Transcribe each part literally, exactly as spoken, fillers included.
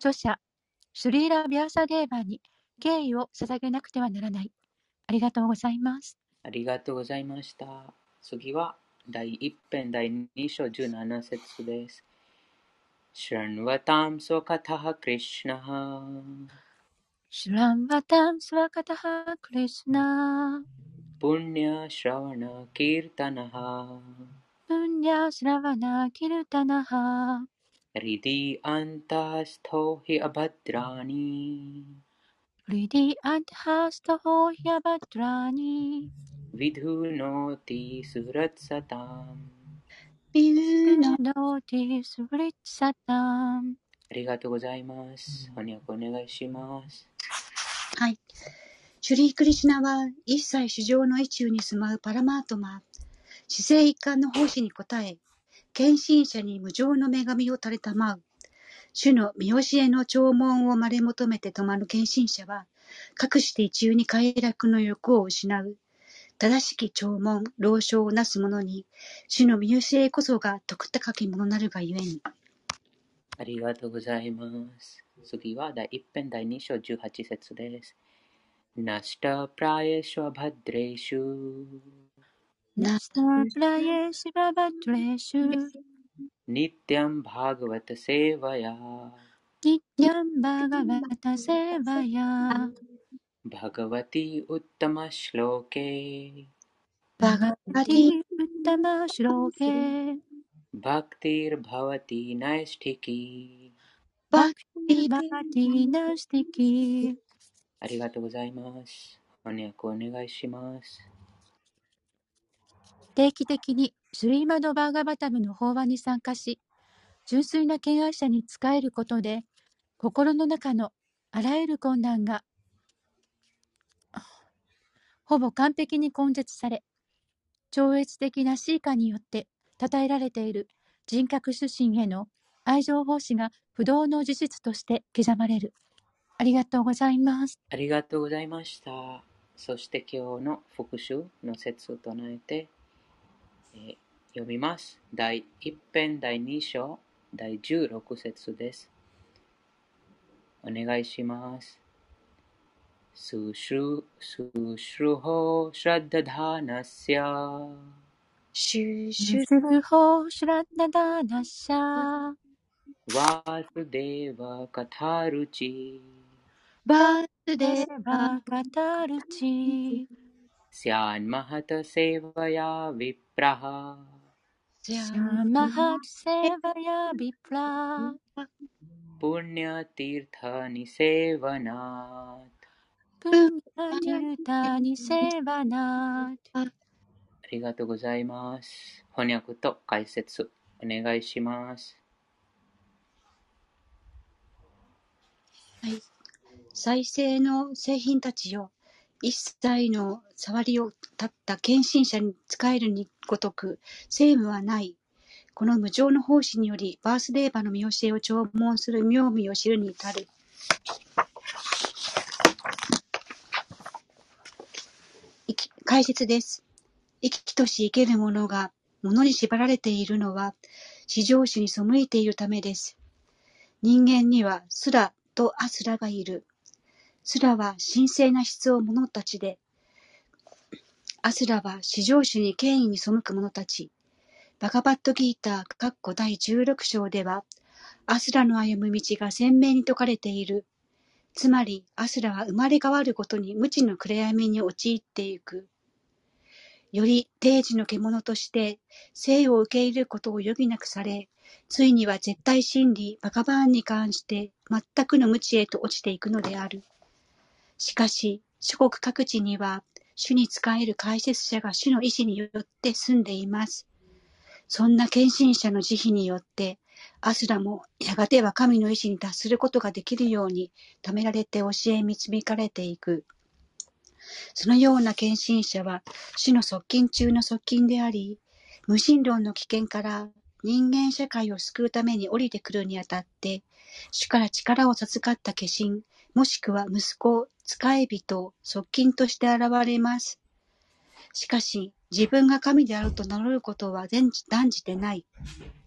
著者シュリーラ・ビャーサデーバーに敬意を捧げなくてはならない。ありがとうございます。 ありがとうございました。次は第一編第二章十七節です。Shranvatam swakatah Krishnaha Shramvatam Swakataha Krishna Punya Shravana Kirtanaha Punya Shravana Kirtanaha Ridi Antastho Hi Abhadrani Ridi Adhastaho Hyabhadrani Vidhunoti Suratsatam。 ビューの Vinodati Suritsatam。 ありがとうございます。翻訳お願いします。 はい。シュリー・クリシュナは一切主情の意中に住まうパラマートマ、至聖一貫の奉仕に応え、献身者に無常の女神を垂れたまう。主の見教えの弔問をまれ求めて止まる献身者は、かくして一憂に快楽の欲を失う。正しき弔問、老少をなす者に、主の見教えこそが徳高きものなるがゆえに。 ありがとうございます。次は第一編第二章十八節です。ナシタプラエシュアバドレシュナスタプライエシババトレシュニティアンバーガヴァタセーバヤニティャンバガバタセーバヤバガヴァティウッタマシローケバガバティウッタマシュローケバクティルバワティナイスティキ。 バクティバティナスティキ。 ありがとうございます。翻訳お願いします。 定期的にシュリーマド・バーガバタムの法話に参加し、純粋な敬愛者に仕えることで、心の中のあらゆる困難がほぼ完璧に根絶され、超越的なシーカによって称えられている人格主神への愛情奉仕が不動の事実として刻まれる。ありがとうございます。 ありがとうございました。そして今日の復習の説を唱えて、えー読みます。第一編第二章第十六節です。お願いします。スシュスシュホシラッダダーナスヤシュシュシュルホシュラッダダーナッシャワースデーバカタルチバースデーバーカタルチスヤンマハタセーバヤヴィプラハシャマハトセーバヤビプラプニャティルタニセーバナプンナティルタニセーバナー。ありがとうございます。翻訳と解説お願いします。 はい。再生の製品たちよ、一切の触りを立った献身者に仕えるにごとく、聖無はない。この無常の奉仕により、バースデーバの見教えを弔問する妙味を知るに至る。解説です。生き生とし生ける者が物に縛られているのは、至上主に背いているためです。人間にはスラとアスラがいる。スラは神聖な質を者たちで、アスラは至上主に権威に背く者たち。バガバットギーターだいじゅうろく章では、アスラの歩む道が鮮明に説かれている。つまり、アスラは生まれ変わるごとに無知の暗闇に陥っていく。より定時の獣として生を受け入れることを余儀なくされ、ついには絶対真理、バガバーンに関して全くの無知へと落ちていくのである。しかし、諸国各地には、主に仕える解説者が主の意志によって住んでいます。そんな献身者の慈悲によって、アスラもやがては神の意志に達することができるように、貯められて教え導かれていく。そのような献身者は、主の側近中の側近であり、無神論の危険から人間社会を救うために降りてくるにあたって、主から力を授かった化身、もしくは息子、仕え人、側近として現れます。しかし、自分が神であると名乗ることは断じてない。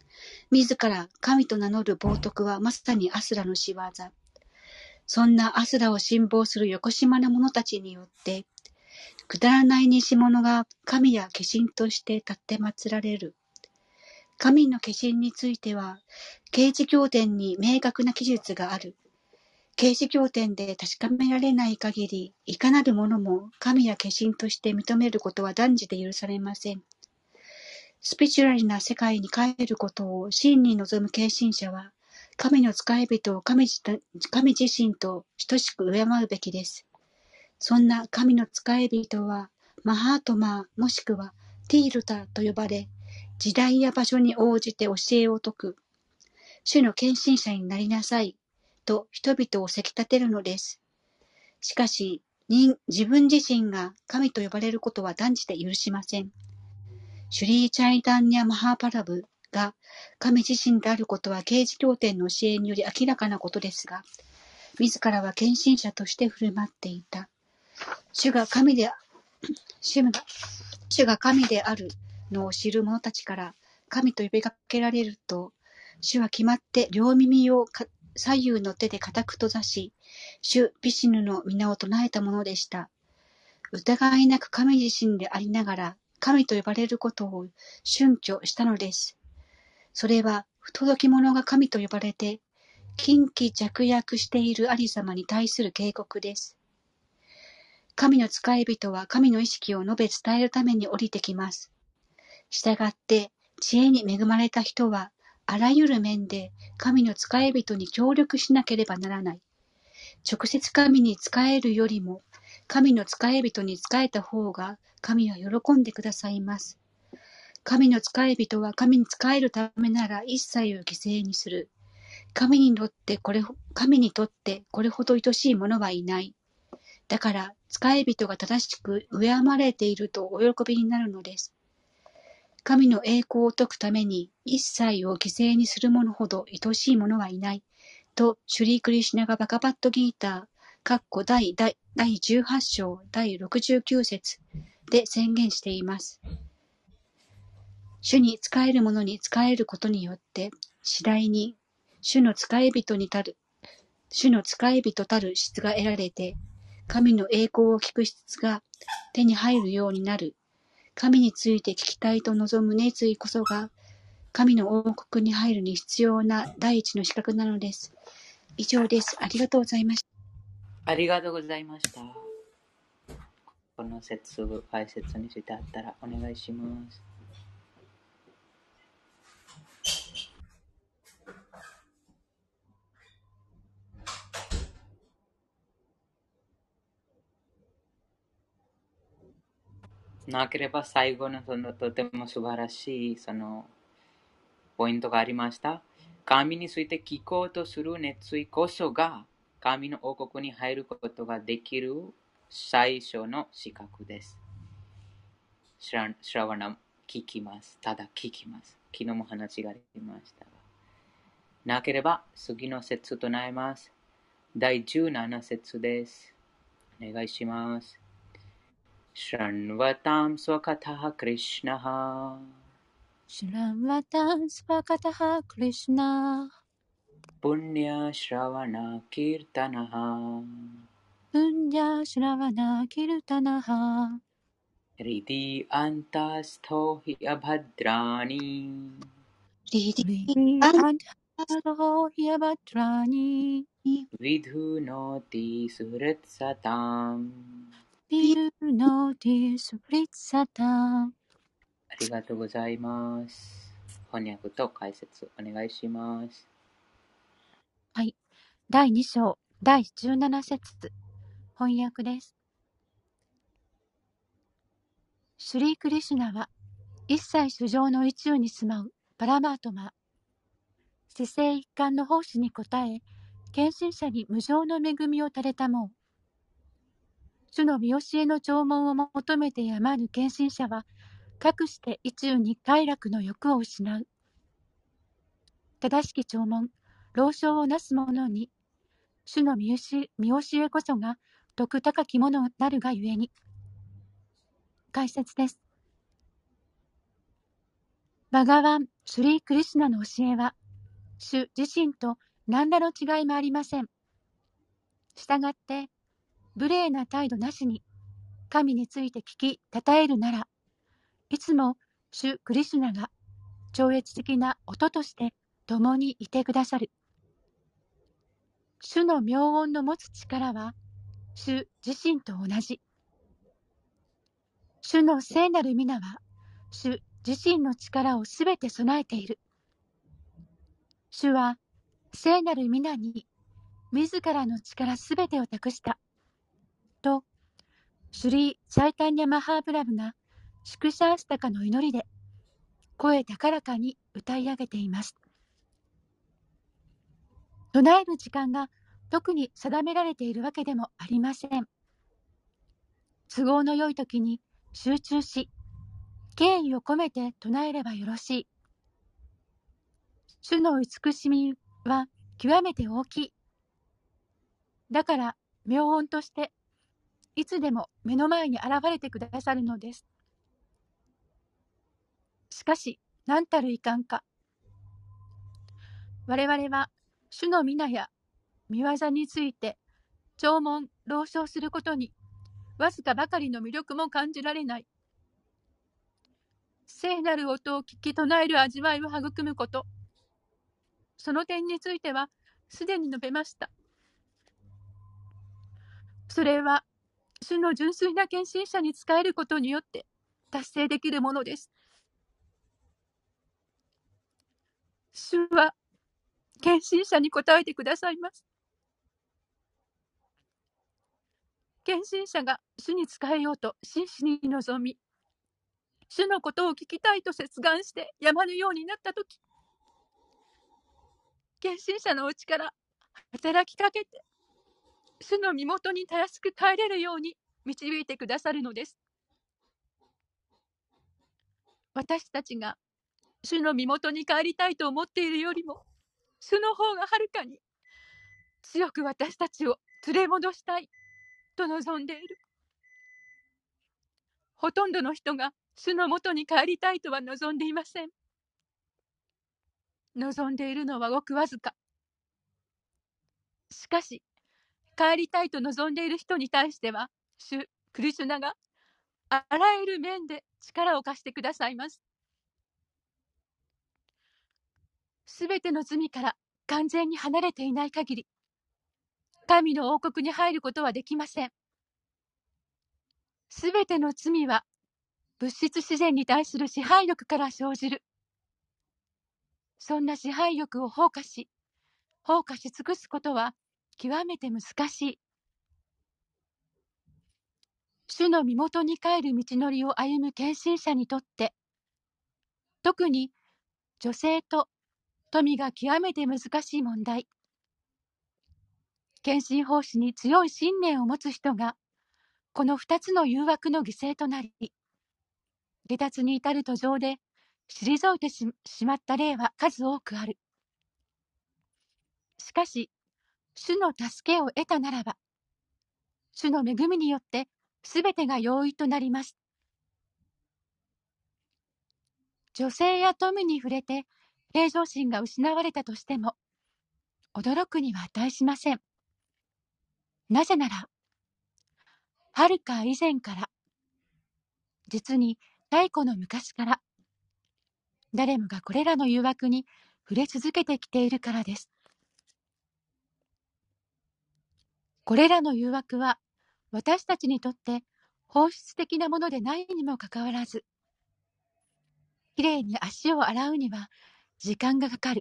自ら神と名乗る冒涜はまさにアスラの仕業。そんなアスラを信望するよこしまな者たちによって、くだらない偽物が神や化身として立って祀られる。神の化身については、啓示経典に明確な記述がある。啓示経典で確かめられない限り、いかなるものも神や化身として認めることは断じて許されません。スピリチュアルな世界に帰ることを真に望む献身者は、神の使い人を 神, 神自身と等しく敬うべきです。そんな神の使い人は、マハートマーもしくはティールタと呼ばれ、時代や場所に応じて教えを説く。主の献身者になりなさいと人々をせき立てるのです。しかし、自分自身が神と呼ばれることは断じて許しません。シュリー・チャイタンニャ・マハーパラブが神自身であることは啓示経典の教えにより明らかなことですが、自らは献身者として振る舞っていた。主が神で、主が、主が神であるのを知る者たちから神と呼びかけられると、主は決まって両耳を左右の手で固く閉ざし、主ビシヌの皆を唱えたものでした。疑いなく神自身でありながら、神と呼ばれることを峻挙したのです。それは不届き者が神と呼ばれて、近畿弱約しているありさまに対する警告です。神の使い人は神の意識を述べ伝えるために降りてきます。したがって、知恵に恵まれた人は、あらゆる面で神の使い人に協力しなければならない。直接神に仕えるよりも、神の使い人に仕えた方が神は喜んでくださいます。神の使い人は神に仕えるためなら一切を犠牲にする。神にとってこれ、神にとってこれほど愛しい者はいない。だから、使い人が正しく敬まれているとお喜びになるのです。神の栄光を説くために一切を犠牲にする者ほど愛しい者はいない。と、シュリー・クリシュナがバガバットギーター、第, 第, 第じゅうはち章第ろくじゅうきゅう節で宣言しています。主に仕える者に仕えることによって、次第に主の使い人にたる、主の使い人たる質が得られて、神の栄光を聞く質が手に入るようになる。神について聞きたいと望む熱意こそが、神の王国に入るに必要な第一の資格なのです。以上です。ありがとうございました。 ありがとうございました。この説、解説についてあったらお願いします。なければ最後のそのとても素晴らしいそのポイントがありました。神について聞こうとする熱意こそが神の王国に入ることができる最初の資格です。シラワナ聞きます。ただ聞きます。昨日も話がありましたが。なければ次の節となります。だいじゅうなな節です。お願いします。Shranvatam swakatah Krishnaha Shranvatam Svakataha Krishna Punya Shravana Kirtanaha Punya Shravana Kirtanaha Riti Antastho Hi Abhadrani リディ Riti アン Antasto Hyabhadrani Vidhunoti Suhritsatam Vidunoti Supritsata。 ありがとうございます。翻訳と解説お願いします。 はい。だいに章だいじゅうなな節翻訳です。シュリー・クリシュナは一切主上の宇宙に住まうパラマートマ、世世一貫の奉仕に応え、献身者に無上の恵みを垂れたもう。主の見教えの弔問を求めてやまぬ献身者は、かくして意中に快楽の欲を失う。正しき弔問、老少をなす者に、主の見教えこそが徳高きものなるがゆえに。解説です。 バガワン・シュリー・クリシュナの教えは、主自身と何らの違いもありません。したがって、無礼な態度なしに神について聞き、称えるなら、いつも主クリシュナが超越的な音として共にいてくださる。主の妙音の持つ力は、主自身と同じ。主の聖なる皆は、主自身の力をすべて備えている。主は、聖なる皆に、自らの力すべてを託した。と、シュリー・チャイタンニャ・マハープラブが、宿舎アスタカの祈りで、声高らかに歌い上げています。唱える時間が特に定められているわけでもありません。都合の良い時に集中し、敬意を込めて唱えればよろしい。主の慈しみは極めて大きい。だから、妙音として、いつでも目の前に現れてくださるのです。しかし、何たるいかんか。我々は、主の皆や見業について、聴聞、朗唱することに、わずかばかりの魅力も感じられない。聖なる音を聞き唱える味わいを育むこと。その点については、すでに述べました。それは、主の純粋な献身者に仕えることによって達成できるものです。主は、献身者に応えてくださいます。献身者が主に仕えようと真摯に望み、主のことを聞きたいと切願してやまぬようになったとき、献身者のうちから働きかけて、主の身元にたやすく帰れるように導いてくださるのです。私たちが主の身元に帰りたいと思っているよりも、主の方がはるかに強く私たちを連れ戻したいと望んでいる。ほとんどの人が主の元に帰りたいとは望んでいません。望んでいるのはごくわずか。しかし、帰りたいと望んでいる人に対しては、主クリシュナがあらゆる面で力を貸してくださいます。すべての罪から完全に離れていない限り、神の王国に入ることはできません。すべての罪は物質自然に対する支配欲から生じる。そんな支配欲を放下し、放下し尽くすことは極めて難しい。主の身元に帰る道のりを歩む献身者にとって、特に女性と富が極めて難しい問題。献身奉仕に強い信念を持つ人が、この二つの誘惑の犠牲となり、下脱に至る途上で退いて し, しまった例は数多くある。しかし、主の助けを得たならば、主の恵みによってすべてが容易となります。女性や富に触れて平常心が失われたとしても、驚くには値しません。なぜなら、はるか以前から、実に太古の昔から、誰もがこれらの誘惑に触れ続けてきているからです。これらの誘惑は、私たちにとって本質的なものでないにもかかわらず、きれいに足を洗うには時間がかかる。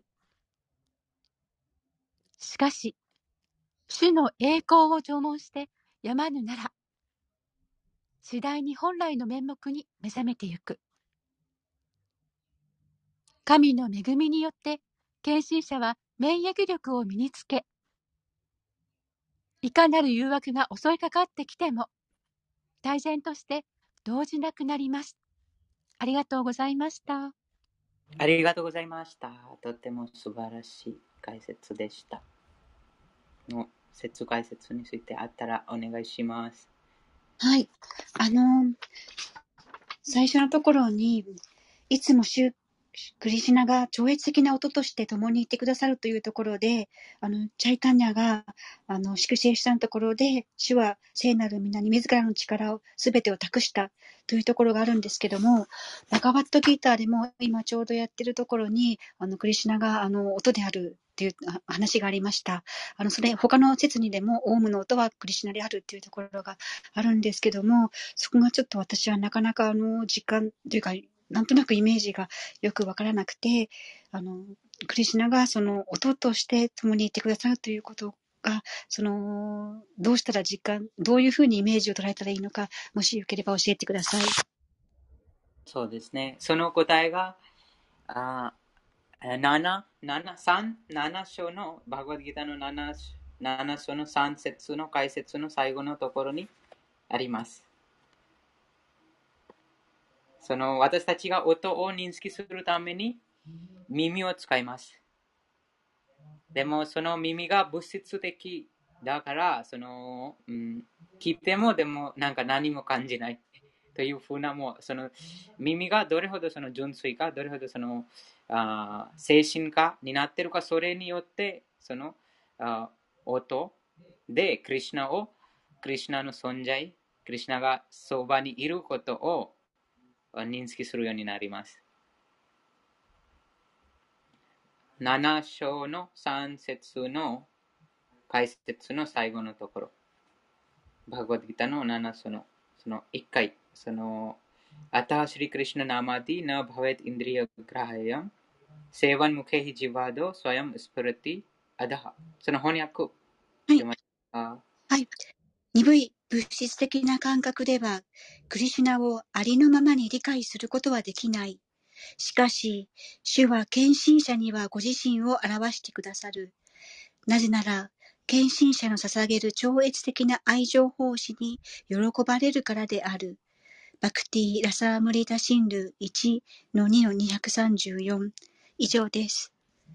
しかし、主の栄光を聴聞してやまぬなら、次第に本来の面目に目覚めてゆく。神の恵みによって、献身者は免疫力を身につけ、いかなる誘惑が襲いかかってきても、大然として動じなくなります。ありがとうございました。 ありがとうございました。とても素晴らしい解説でした。の説解説についてあったらお願いします。 はい。あの、最初のところに、いつも主クリシュナが超越的な音として共にいてくださるというところで、あの、チャイタンニャが、あの、粛清したところで、主は聖なる皆に自らの力を、すべてを託したというところがあるんですけども、バガバットギーターでも今ちょうどやってるところに、あの、クリシュナが、あの、音であるっていう話がありました。あの、それ、他の説にでも、オウムの音はクリシュナであるっていうところがあるんですけども、そこがちょっと私はなかなか、あの、実感というか、なんとなくイメージがよくわからなくて、あの、クリシュナがその音として共にいてくださるということが、その、どうしたら実感、どういうふうにイメージを捉えたらいいのか、もしよければ教えてください。 そうですね。その答えが、あなな、なな、さん、なな章の、バグワッドギーターのなな、なな章のさん節の解説の最後のところにあります。その私たちが音を認識するために耳を使います。でもその耳が物質的だから、その、うん、聞いてもでもなんか何も感じないというふうな、もうその耳がどれほどその純粋か、どれほどそのあ精神化になっているか、それによってそのあ音でクリシュナを、クリシュナの存在、クリシュナがそばにいることを認識するようになります。なな章のさん節の解説の最後のところ。バガバッドギーターのなな章のそのいっかい、その、アタハシリクリシュナナマディナバベッインドリヤグラハヤン、セーバンムケヒジワド、ソヤムスプリティ、アダハ。その翻訳。 はい。はい。鈍い物質的な感覚では、クリシュナをありのままに理解することはできない。しかし、主は献身者にはご自身を表してくださる。なぜなら、献身者の捧げる超越的な愛情奉仕に喜ばれるからである。バクティ・ラサームリタ・シンル いちのにのにひゃくさんじゅうよん 以上です。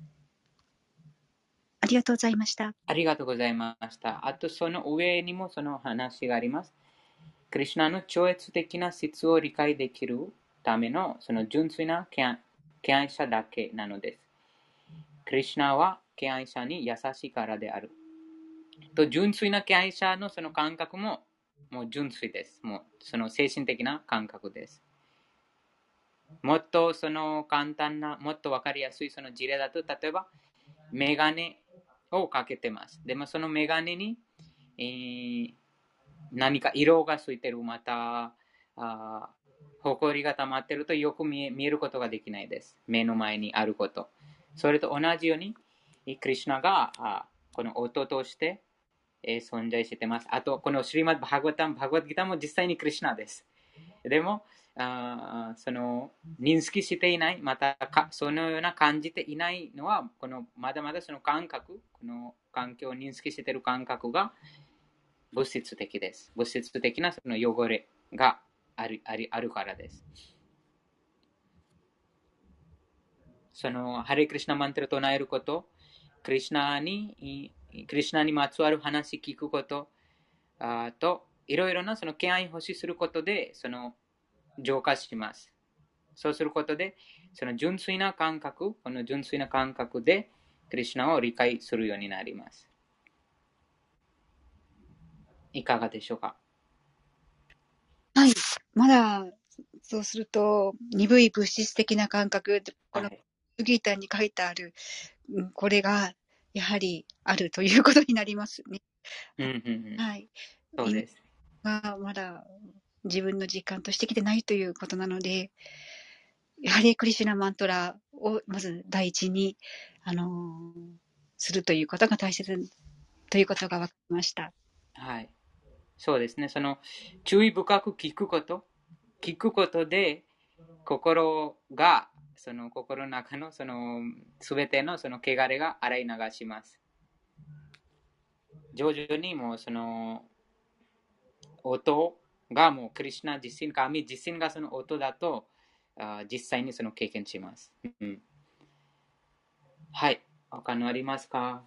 ありがとうございました。 ありがとうございました。あとその上にもその話があります。クリシュナの超越的な質を理解できるためのその純粋な敬愛者だけなのです。クリシュナは敬愛者に優しいからである。と純粋な敬愛者のその感覚ももう純粋です。もうその精神的な感覚です。もっとその簡単な、もっとわかりやすいその事例だと、例えばメガネをかけてます。でもそのメガネに、えー、何か色がついてる、またあほこりが溜まってるとよく見え見えることができないです。目の前にあること。それと同じように、クリシュナがあこの音として、えー、存在してます。あと、このシリマッド・バーガバッタム、バーガバッドギターも実際にクリシュナです。でも、あその認識していない、またかそのような感じていないのは、このまだまだその感覚、この環境を認識している感覚が物質的です。物質的なその汚れがある、ある、あるからです。そのハレクリシナマントラを唱えること、クリシナに、クリシナにまつわる話聞くことあと、いろいろなその敬愛を欲しすることで、その浄化します。そうすることで、その純粋な感覚、この純粋な感覚で、クリシュナを理解するようになります。いかがでしょうか？ はい。まだ、そうすると、鈍い物質的な感覚、このギーターに書いてある、うん、これが、やはりあるということになりますね。 うんうんうん、 はい。 そうです。 がまだ自分の実感としてきてないということなので、ハレークリシュナマントラをまず第一に、あのー、するということが大切ということが分かりました。 はい。そうですね。その注意深く聞くこと、聞くことで心が、その心の中のそのすべてのその汚れが洗い流します。徐々にもうその音がもうクリシュナ自身、神自身がその音だとあ実際にその経験します。うん、はい。他のありますか？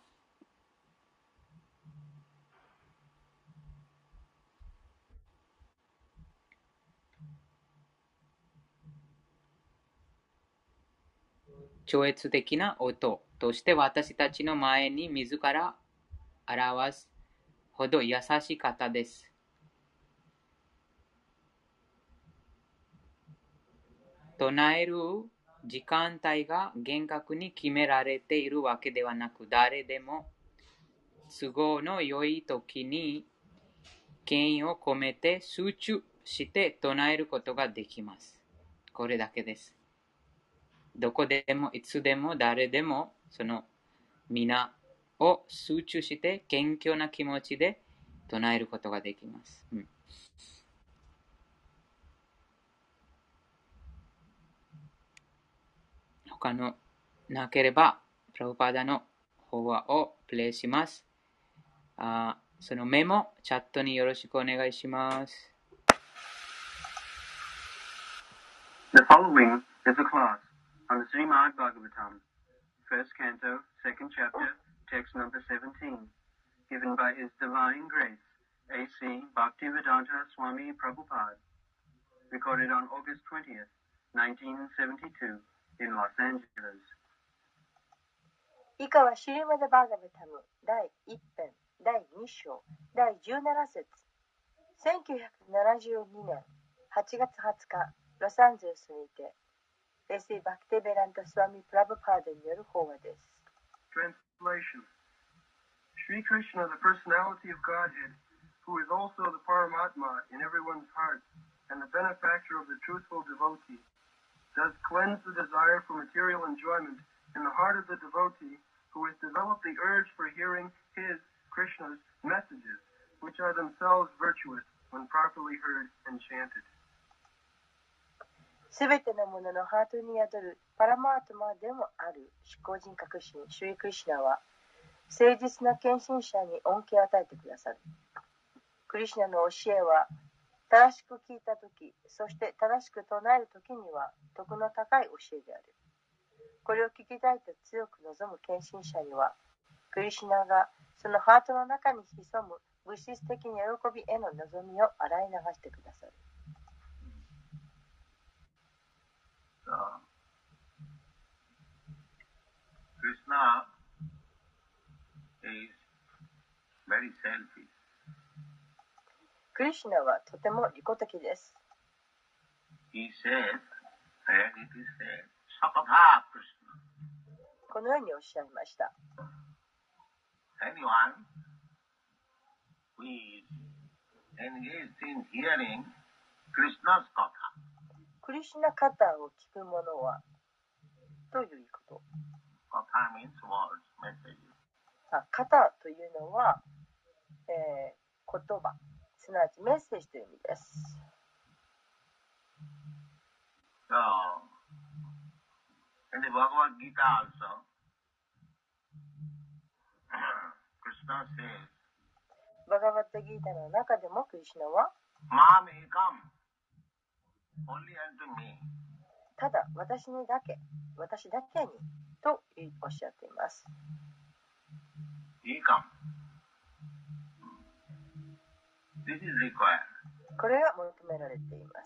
超越的な音として私たちの前に自ら表すほど優しい方です。唱える時間帯が厳格に決められているわけではなく、誰でも都合の良い時に権威を込めて集中して唱えることができます。これだけです。どこでもいつでも誰でもその皆を集中して謙虚な気持ちで唱えることができます。うん、他のなければ、プラブパーダの法話をプレイします。あそのメモ、チャットによろしくお願いします。 The following is a class on the Srimad Bhagavatam, first canto, second chapter, text number seventeen, given by His Divine Grace, A C Bhaktivedanta Swami Prabhupada, recorded on August twentieth, nineteen seventy-two, in Los Angeles. 以下はシリマダ・バーガバタム第一編第二章第十七節せんきゅうひゃくななじゅうにねんはちがつはつかロサンゼルスにてエーシーバクテベランタ・スワミ・プラブパーダによる法話です。 Translation. Sri Krishna, the personality of Godhead, who is also the Paramatma in everyone's heart and the benefactor of the truthful devotee, does cleanse the desire for material enjoyment in the heart of the devotee who has developed the urge for hearing his, Krishna's, messages, which are themselves virtuous when properly heard and chanted. すべてのもののハートに宿るパラマートマでもある思考人格神シュリクリシナは誠実な献身者に恩恵を与えてくださる。クリシナの教えは正しく聞いたとき、そして正しく唱えるときには徳の高い教えである。これを聞きたいと強く望む献身者には、クリシナがそのハートの中に潜む物質的な喜びへの望みを洗い流してくださる。 So, Krishna is very selfish. クリシナはとても利己的です。 He said, and it is said, Sakatha Krishna. このようにおっしゃいました。 Anyone who is engaged in hearing Krishna's katha. クリシナカタを聞く者はということ。 Katha means words, messages. あ、カタというのは、えー、言葉、すなわちメッセージという意味です。 So, in the Bhagavad Gita also, Krishna says, バガバッタギータの中でもクリシナは、 Mam ekam, only unto me. ただ私にだけ、私だけにとおっしゃっています。 Ekam. This is required. これが求められています。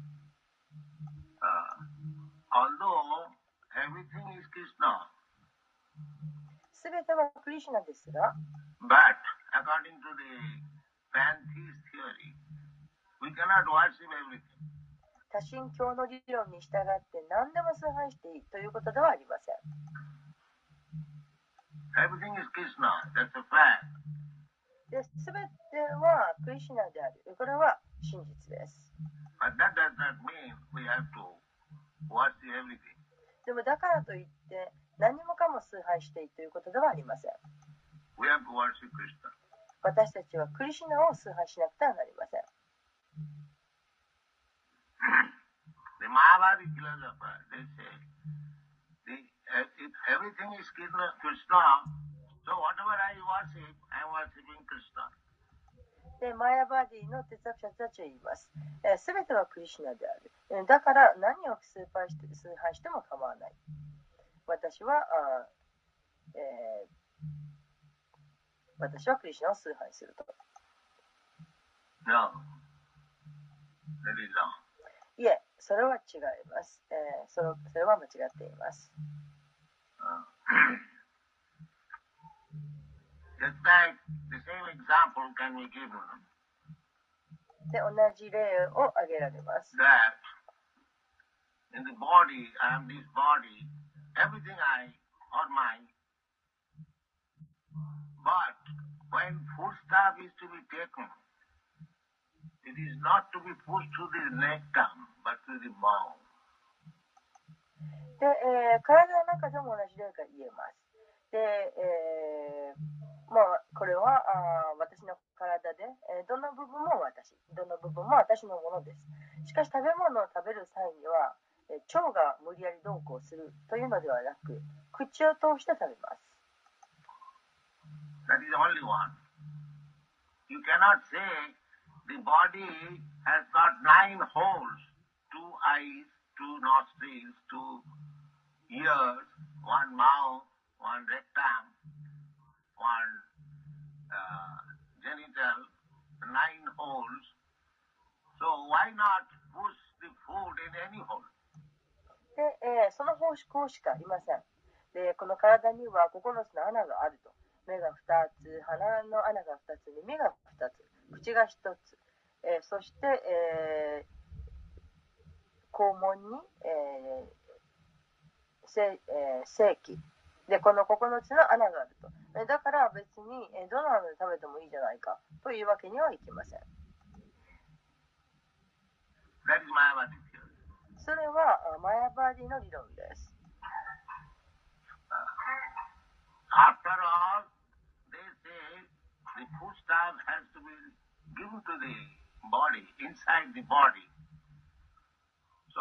Uh, although everything is Krishna, すべてはクリシナですが、 but according to the pantheist theory, we cannot worship everything. 多神教の理論に従って何でも崇拝していいということではありません。 Everything is Krishna, that's a fact. で、すべてはクリシナである。これは真実です。 But that does not mean we have to worship everything. でもだからといって何もかも崇拝していいということではありません。 We have to worship Krishna. 私たちはクリシナを崇拝しなくてはなりません。 The Mahabharata philosopher, they say, the, if everything is Krishna, Krishna, so whatever I worship, I am worshiping Krishna. で、マヤバーディの哲学者たちは言います。すべてはクリシナである。えーだから何を崇拝して、崇拝しても構わない。私は、あえー、私はクリシナを崇拝すると。 No, that is wrong. いえ、それは違います。えー、それそれは間違っています。 Just like the same example can be given で、同じ例を挙げられます。 that in the body, I am this body, everything I or mine, but when food stuff is to be taken, it is not to be pushed to the rectum, but to the mouth. で、えー体の中でも同じ例が言えます。で、えーまあ、これはあ私の体で、えーどの部分も私、どの部分も私のものです。しかし食べ物を食べる際には、えー腸が無理やりどうこうするというのではなく、口を通して食べます。 That is only one. You cannot say the body has got nine holes, two eyes, two nostrils, two ears, one mouth, one rectum, one uh, genital, nine holes. So why not push the food in any hole? で、えーその方式しかありません。で、この体にはここのつの穴があると。目がふたつ、鼻の穴がふたつ、耳がふたつ、口がひとつ、えーそして、えー肛門に、えーせえー性器で、このここのつの穴があると。えーだから別に、えーどの穴で食べてもいいじゃないかというわけにはいきません。 That is Mayavadi theory. それはあマヤバーディの理論です。 After all, they say the food stuff has to be given to the body, inside the body. So,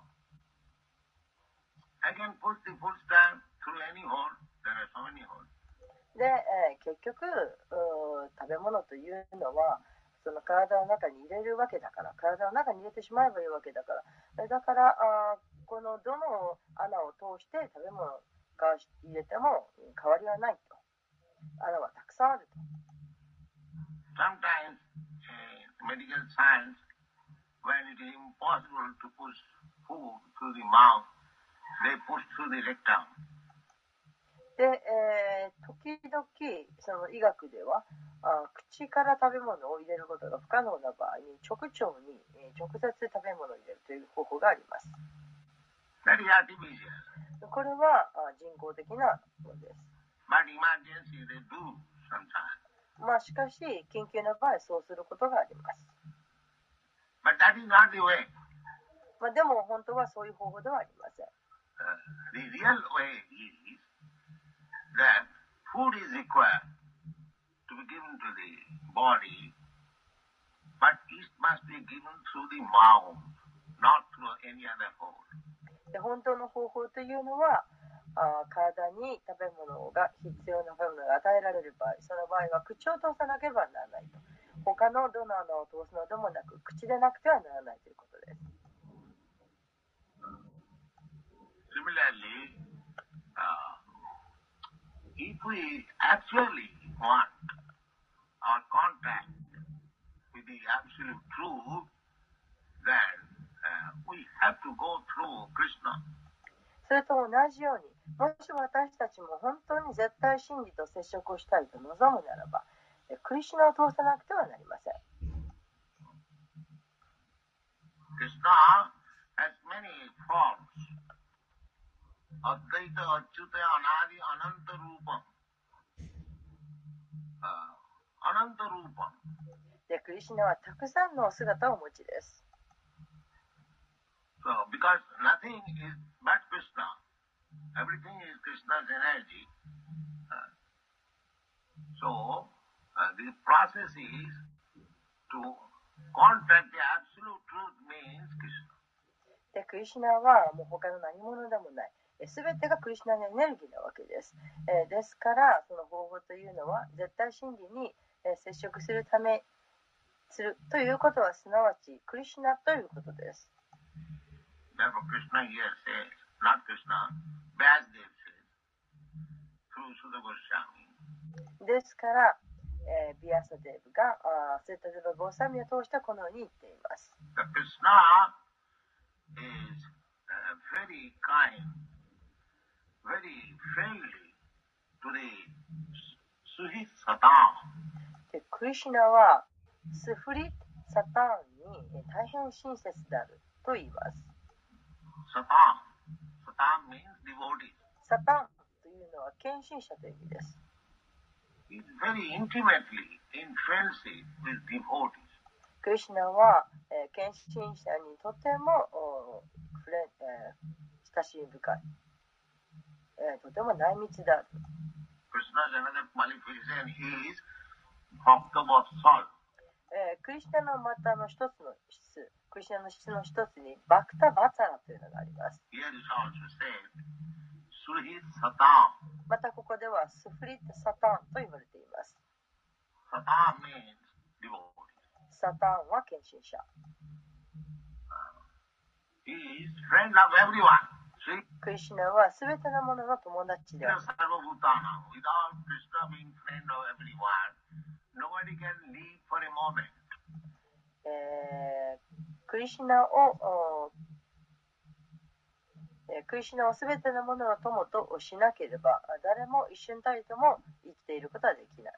I can push the food stuff through any hole. There are so many holes. で、えー結局うー食べ物というのはその体の中に入れるわけだから、体の中に入れてしまえばいいわけだから、だからあこのどの穴を通して食べ物が入れても変わりはないと。穴はたくさんあると。 Sometimes, uh, medical science, when it is impossible to push food through the mouth, they push through the rectum. で、えー時々その医学ではあ口から食べ物を入れることが不可能な場合に直腸に、えー直接食べ物を入れるという方法があります。 That is artificial. これはあ人工的なものです。 But emergency they do sometimes. まあしかし緊急な場合そうすることがあります。 But that is not the way. まあでも本当はそういう方法ではありません。 Uh, the real way is that food is required to be given to the body, but it must be given through the mouth, not through any other hole. で本当の方法というのはあ体に食べ物が必要な食べ物が与えられる場合、その場合は口を通さなければならないと。他のどの穴を通すのでもなく口でなくてはならないということです。 Similarly, uh, if we actually want our contact with the absolute truth, then uh, we have to go through Krishna. それと同じように、もし私たちも本当に絶対真理と接触をしたいと望むならば、クリシュナを通さなくてはなりません。 Krishna has many forms. Advaita, Achyuta, Anadi, Ananta Rupam. Uh, Ananta Rupam. で、クリシュナはたくさんのお姿をお持ちです。 So, because nothing is but Krishna, everything is Krishna's energy. Uh, so, uh, the process is to contact the absolute truth means Krishna. で、クリシュナはもう他の何者でもない。すべてがクリシュナのエネルギーなわけです。えー、ですから、その方法というのは絶対真理に、えー、接触するためするということはすなわちクリシュナということです。 Therefore, Krishna here says, not Krishna, Vyasdev says, through Sudha Goswami. ですから、えー、ビアサデーブがあセッタデバ・ゴーサミを通してこのように言っています。 The Krishna is uh, very kind very friendly to the Suhi Satan. でクリシュナはスフリ・サタンに大変親切であると言います。 Satan. Satan means devotee. サタンというのは献身者という意味です。 He is very intimately in friendship with devotees. クリシュナは、えー、献身者にとてもフレ、えー、親しみ深い、えー、とても内密である。 Krishna's another qualification is Bhakta-Vatsal. えー、クリシュナのまたの一つの質、クリシュナの質の一つにバクタ・バツァラというのがあります。 Here is also said, Suhi Satan. またここではスフリット・サタンと言われています。 Satan means devotee. サタンは献身者。 He is friend of everyone. See? クリシュナはすべてのものの友達である。 Sarvabhutana. Without Krishna being friend of everyone, nobody can live for a moment. えー、クリシュナを、えー、クリシュナをすべてのものの友としなければ、誰も一瞬たりとも生きていることはできない。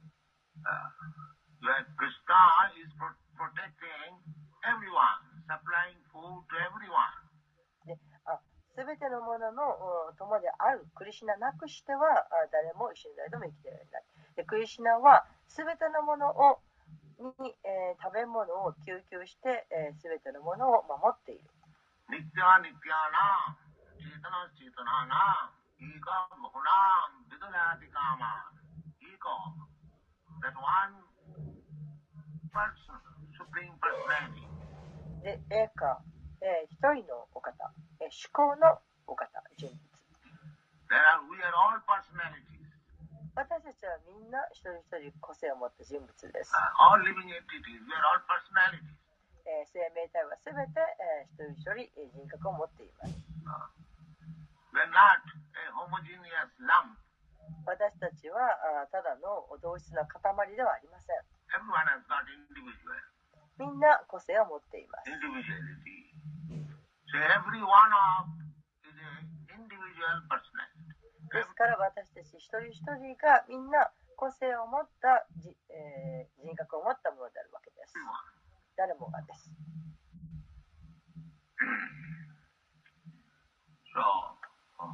Uh, Krishna is pro- protecting everyone, supplying food to everyone. で、あ、すべてのものの友であるクリシュナなくしては誰も一緒に誰とも生きていられない。でクリシュナはすべてのものをに、えー、食べ物を供給して、えー、すべてのものを守っている。 ニッティアニッティアナ、チータナチータナナ、イカムホナ、ビドナティカマ、イコ、that one person, supreme personality. で、エーカ、えー、一人のお方、えー、至高のお方、人物。 There are, we are all personalities. 私たちはみんな一人一人個性を持った人物です。 Uh, all living entities, we are all personalities. えー、生命体はすべて、えー、一人一人人格を持っています。 Uh, we are not a homogeneous lump. 私たちはあただの同質な塊ではありません。 Everyone has got individual. みんな個性を持っています。 Individuality. So every one of is an individual personality. ですから私たち一人一人がみんな個性を持ったじ、えー、人格を持ったものであるわけです。誰もがです。 So, uh,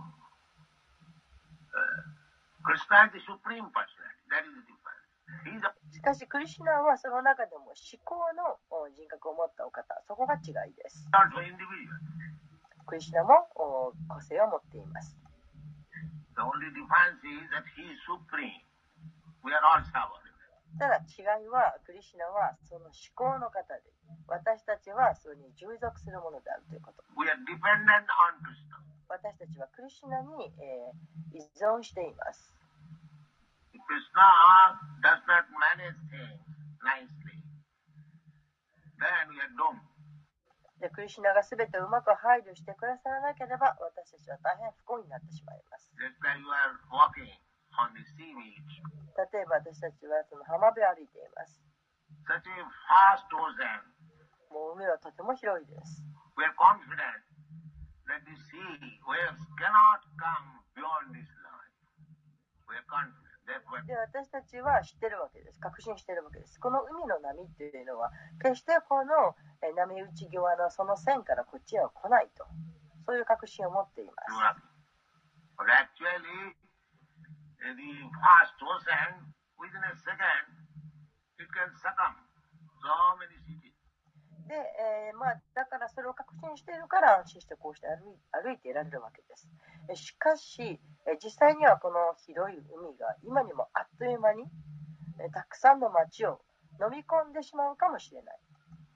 Krishna is the supreme personality. That is the difference. He is a しかしクリシュナはその中でも至高の人格を持ったお方、そこが違いです。 also individual. クリシュナも個性を持っています。 The only difference is that he is supreme. We are all subordinates. ただ違いはクリシュナはその至高の方で、私たちはそれに従属するものであるということ。 We are dependent on Krishna. 私たちはクリシュナに、えー、依存しています。 Krishna does not manage things nicely. Then we are doomed. でクリシュナがすべてうまく配慮してくださらなければ私たちは大変不幸になってしまいます。 Just like you are walking on the sea beach. 例えば私たちはその浜辺を歩いています。 Such a vast ocean. もう海はとても広いです。 We are confident that the sea waves cannot come beyond this line. We are confident. で私たちは知ってるわけです。確信してるわけです。この海の波っていうのは決してこの波打ち際のその線からこっちへは来ないと、そういう確信を持っています。 But actually, the vast ocean, within a second, it can succumb so many cities. で、えーまあ、だからそれを確信しているから安心してこうして歩い、歩いていられるわけです。しかし、実際にはこの広い海が今にもあっという間にたくさんの町を飲み込んでしまうかもしれない。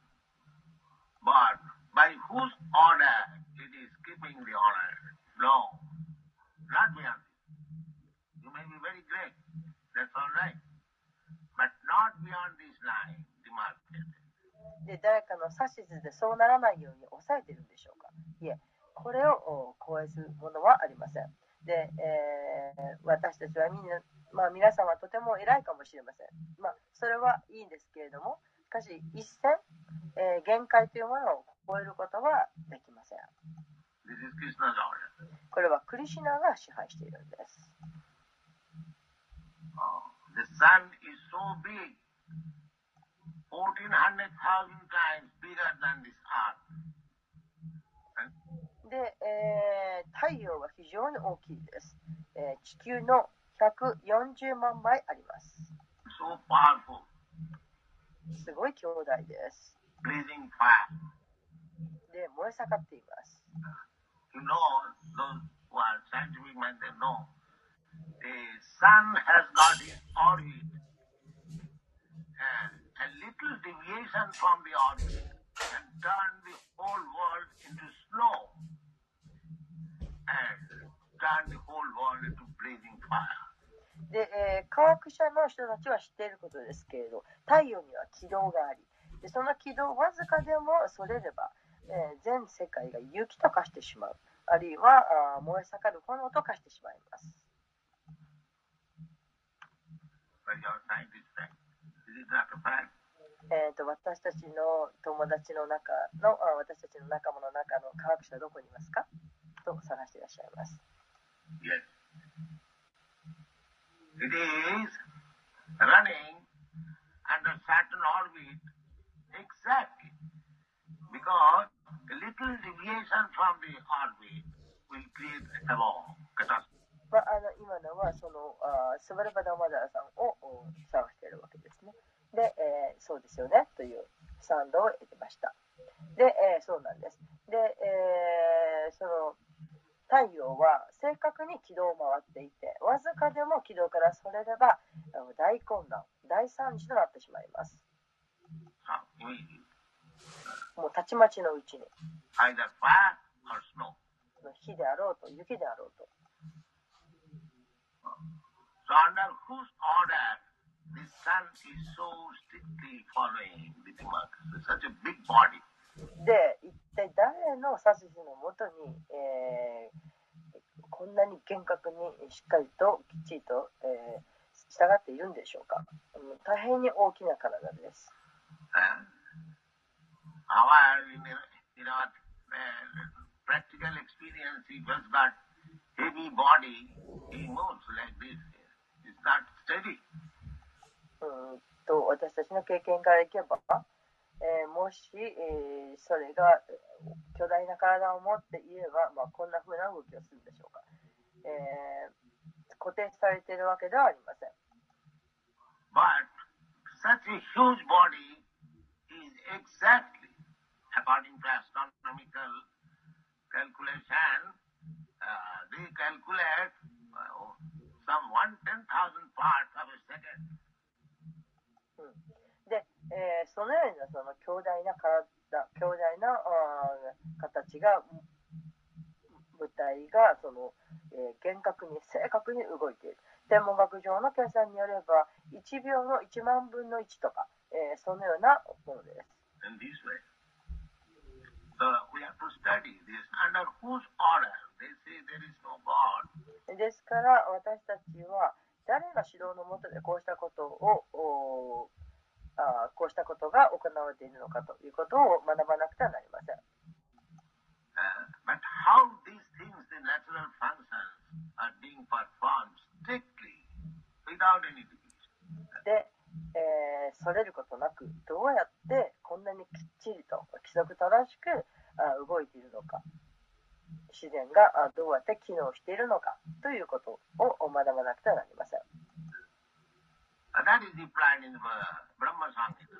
But by whose order it is keeping the honor? No, not beyond. You may be very great, that's all right, but not beyond this line, demarcated. で誰かの指図でそうならないように抑えているんでしょうか。いえ、これを超えるものはありません。で、えー、私たちはみんな、まあ、皆さんはとても偉いかもしれません。まあ、それはいいんですけれども、しかし一線、えー、限界というものを超えることはできません。 This is Krishna's order. これはクリシュナが支配しているんです。 Oh, the sun is so big, fourteen hundred thousand times bigger than this earth. で、えー、太陽は非常に大きいです。えー、地球のひゃくよんじゅうまんばいあります。 So powerful. すごい強大です。 Blazing fire. で、燃え盛っています。 You know, those who are scientific minded, they know the sun has got its orbit, and a little deviation from the orbit can turn the whole world into snow and turn the whole world into blazing fire. で、えー、科学者の人たちは知っていることですけれど、太陽には軌道があり、でその軌道わずかでもそれれば、えー、全世界が雪と化してしまう、あるいはあ燃え盛る炎と化してしまいます。えー、と私たちの友達の中のあ私たちの仲間の中の科学者はどこにいますかと探していらっしゃいます。 Yes. It is running under certain orbit exactly because a little deviation from the orbit will create a catastrophe. まあ、あの今のはそのあスバルバダマダラさんを探しているわけですね。で、えー、そうですよねという賛同を得てました。で、えー、そうなんです。で、えー、その太陽は正確に軌道を回っていて、わずかでも軌道からそれれば大混乱、大惨事となってしまいます。もうたちまちのうちに。火であろうと雪であろうと。 So under whose order the sun is so strictly following the demarcation, such a big body. で、一体誰の指図のもとに、えー、こんなに厳格にしっかりときっちりと、えー、従っているんでしょうか。大変に大きな体です。 Our, in, in our uh, practical experience, he just got heavy body, he moves like this. It's not steady. うんと私たちの経験からいけば、えー、もし、えー、それが巨大な体を持っていれば、まあ、こんな風な動きをするんでしょうか。えー、固定されているわけではありません。 But such a huge body is exactly, according to astronomical calculation, uh, they calculate uh, some one ten thousand parts of a second. うん、で、えー、そのようなその強大な体、強大な形が、物体がその、えー、厳格に正確に動いている。天文学上の計算によればいちびょうのいちまんぶんのいちとか、えー、そのようなものです。 In this way, so we have to study this under whose order they say there is no God. ですから私たちは誰の指導のもとでこうしたことをあこうしたことが行われているのかということを学ばなくてはなりません。 Uh, but how these things, the natural functions, are being performed strictly without any deviation. で、えー、それることなくどうやってこんなにきっちりと規則正しくあ動いているのか、自然があどうやって機能しているのかということを学ばなくてはなりません。 And that is implied in the Brahma Samhita.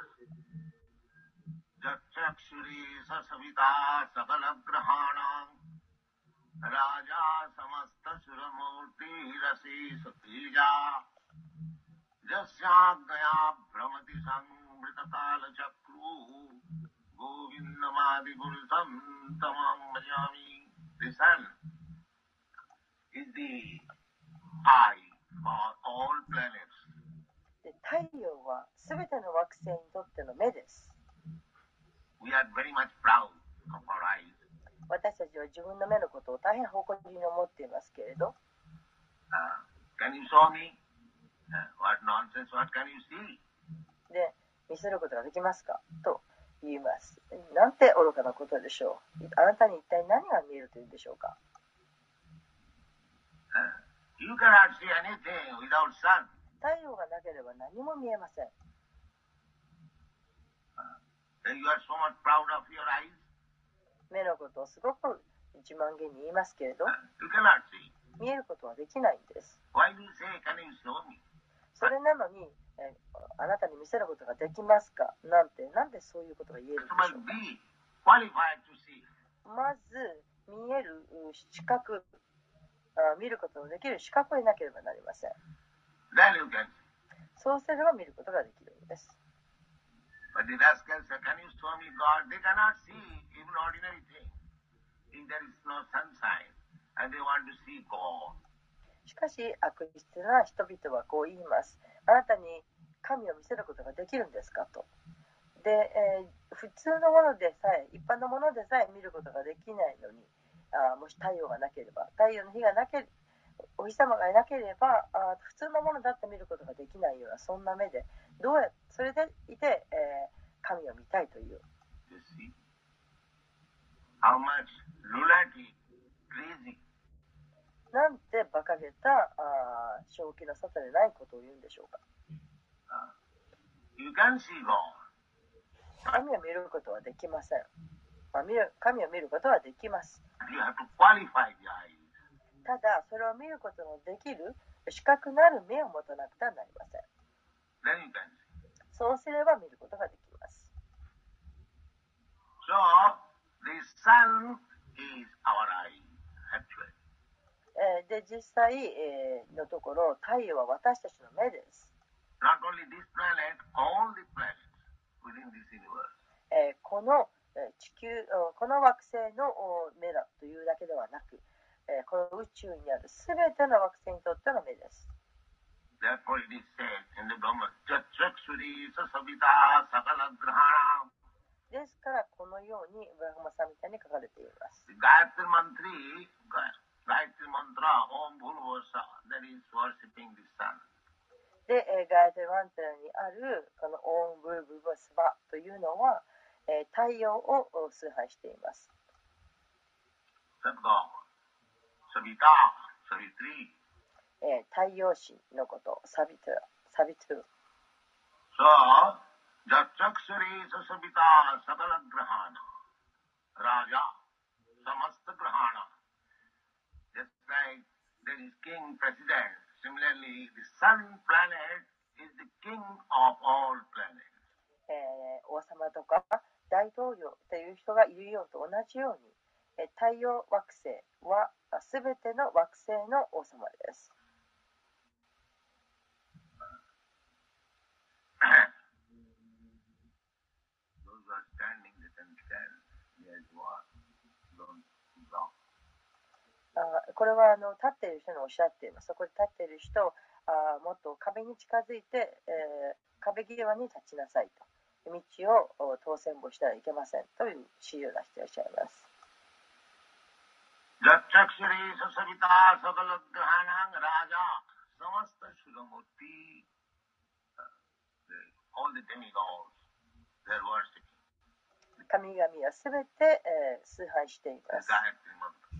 Jachakshuri sasavita sakalagrahanam raja samasta suramurti rasi satija jasyagaya brahmati samritakala chakru govindamadi gurutam tamam bhajami. The sun is the eye for all planets. で太陽はすべての惑星にとっての目です。 We are very much proud of our eyes. 私たちは自分の目のことを大変誇りに思っていますけれど、 Uh, can you show me? Uh, what nonsense, what can you see? で見せることができますかと言います。なんて愚かなことでしょう。あなたに一体何が見えるというんでしょうか。 You cannot see anything without sun. 太陽がなければ何も見えません。 Then you are so much proud of your eyes. 目のことをすごく自慢げに言いますけれど、 You cannot see. 見えることはできないんです。 Why do you say, can you show me? それなのに、えあなたに見せることができますかなんて、なんでそういうことが言えるんで You しょ must うか。 be qualified to see. まず、見える視覚、あ見ることのできる視覚を得なければなりません。 Then you can see. そうすれば見ることができるんです。 But the rascals say, can you show me God? They cannot see even ordinary things. If there is no sunshine and they want to see God. しかし、悪質な人々はこう言います。あなたに神を見せることができるんですかと。で、えー普通のものでさえ、一般のものでさえ見ることができないのに、あもし太陽がなければ、太陽の日がなければ、お日様がいなければあ、普通のものだって見ることができないような、そんな目で、どうやそれでいて、えー神を見たいという。 You see how much lunatic, crazy. なんて馬鹿げたあ正気の沙汰でないことを言うんでしょうか。 You can see God. 神を見ることはできません。まあ、見る神を見ることはできます。 You have to qualify the eyes. ただ、それを見ることのできる視覚なる目を持たなくてはなりません。 Then you can see. そうすれば見ることができます。 So, the sun is our eye, actually. えーで、実際、えーのところ、太陽は私たちの目です。 Not only this planet, all the planets within this universe. えーこのえー地球、おこの惑星のお目だというだけではなく、えーこの宇宙にあるすべての惑星にとっての目です。 Therefore it is said in the Brahma, Chachakshuri Sasavita Sakala Grahana. ですから、このようにブラフマサミタに書かれています。 The Gayatri Mantri, Gayatri Mantra, Om Bhulvasa, that is worshipping the sun. で、えーガヤテマントラにあるこのオーンブルブルバスバというのは、えー太陽をお崇拝しています。 Sadgam, Savita, Savitri. えー太陽神のこと、サビトゥ、サビトゥ。 So, Jachakshuri Sasavita Sakala Grahana, Raja, Samasta Grahana. Just like there is king, president, similarly the sun planet is the king of all planets. えー王様とか大統領という人がいるようと同じように、えー太陽惑星はすべての惑星の王様です。 Those who are standing, they can stand near the wall. Don't block. あこれはあの立っている人におっしゃっています。そこで立っている人、あもっと壁に近づいて、えー壁際に立ちなさいと。道を当選簿したらいけませんという指示を出していらっしゃいます。 Jachakshuri Sasavita Sakala Grahana Raja, Samasta Shuramurti. All the demigods, they are worshipping. 神々はすべて、えー崇拝しています。 Gayatri Mantra.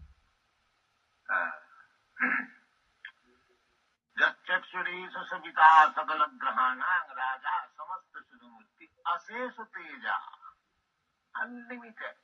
Jachakshuri Sasavita Sakala Grahana Raja, Samasta Shuramurti. Asesa Teja. Unlimited.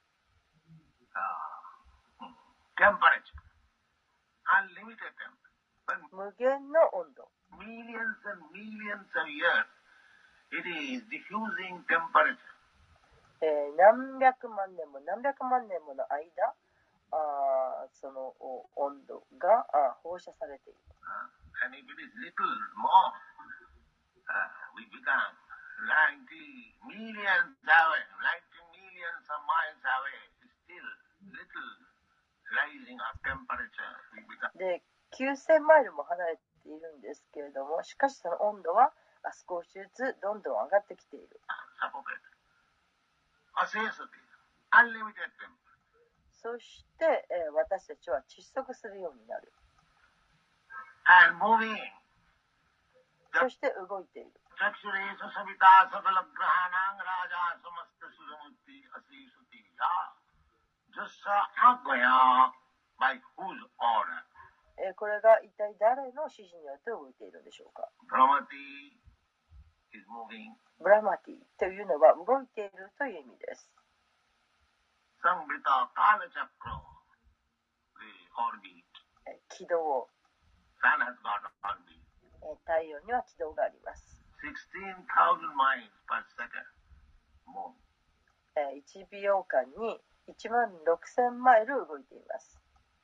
Uh, temperature. Unlimited temperature. But 無限の温度。 millions and millions of years, it is diffusing temperature. えー何百万年も何百万年もの間、あそのお温度があ放射されている。 Uh, and if it is little more, uh, we become ninety millions away, ninety millions of miles away, still little rising of temperature. We become で、きゅうせんマイルも離れているんですけれども、しかしその温度はあ少しずつどんどん上がってきている。 suffocated. Asesa Teja. Unlimited temperature. そして、えー私たちは窒息するようになる。 And moving. そして動いている。 Chakshuri Sasavita Sakala Grahanang Raja Samasta Suramuti Asisutiya Jasa Agaya, by whose order? えーこれが一体誰の指示によって動いているんでしょうか。 Brahmati is moving. ブラマティというのは動いているという意味です。 Samvrita Kala Chakra, the orbit. えー軌道、 Sun has got orbit. えー太陽には軌道があります。 sixteen thousand miles per second. Move. えーいちびょうかんにいちまんろくせんマイル動いています。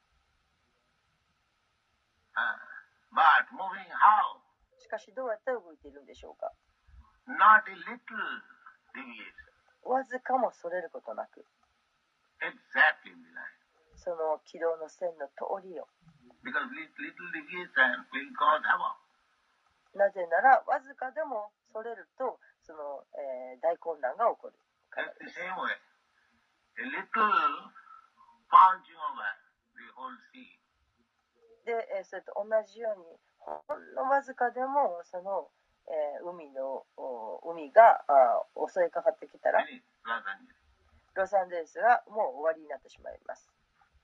Uh, but moving how? しかしどうやって動いているんでしょうか。 Not a little deviation. わずかもそれることなく、 Exactly in the line. その軌道の線の通りを。 Because little, little deviation will cause havoc. なぜならわずかでもそれるとその、えー大混乱が起こるから That's で the す。 same way. A little punching over the whole sea. で、えーそれと同じようにほんのわずかでもその、えー海のお海があー襲いかかってきたら Finish Los Angeles. ロサンゼルスがもう終わりになってしまいます。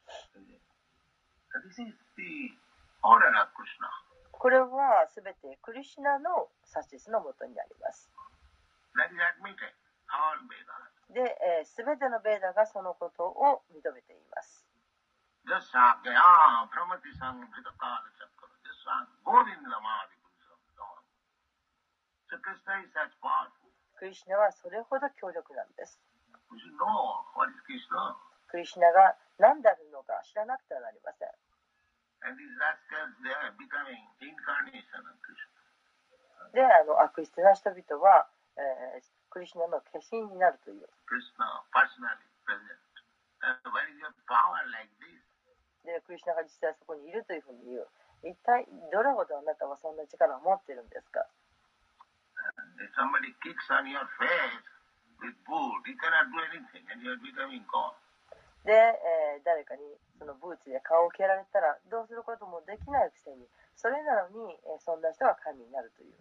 So this is the order of Krishna. これはすべてクリシュナの指図のもとになります。 That is admitted. All Vedas. で、えー、すべてのベーダがそのことを認めています。 Just Shakya, ah, Brahmati Samvrita Kala Chakra. Just Govinda Mahadi Krishna. So Krishna is such powerful. クリシュナはそれほど強力なんです。 We should know what is Krishna. クリシュナが何であるのか知らなくてはなりません。 And these rascals, they are becoming incarnation of Krishna. で、あの悪質な人々は、えークリシュナの化身になるという。 Krishna personally present. Uh, where is your power like this? で、クリシュナが実際そこにいるというふうに言う。一体どれほどあなたはそんな力を持っているんですか。 If somebody kicks on your face with boot, you cannot do anything and you are becoming God. で、えー誰かにそのブーツで顔を蹴られたらどうすることもできないくせに、それなのに、えーそんな人が神になるという。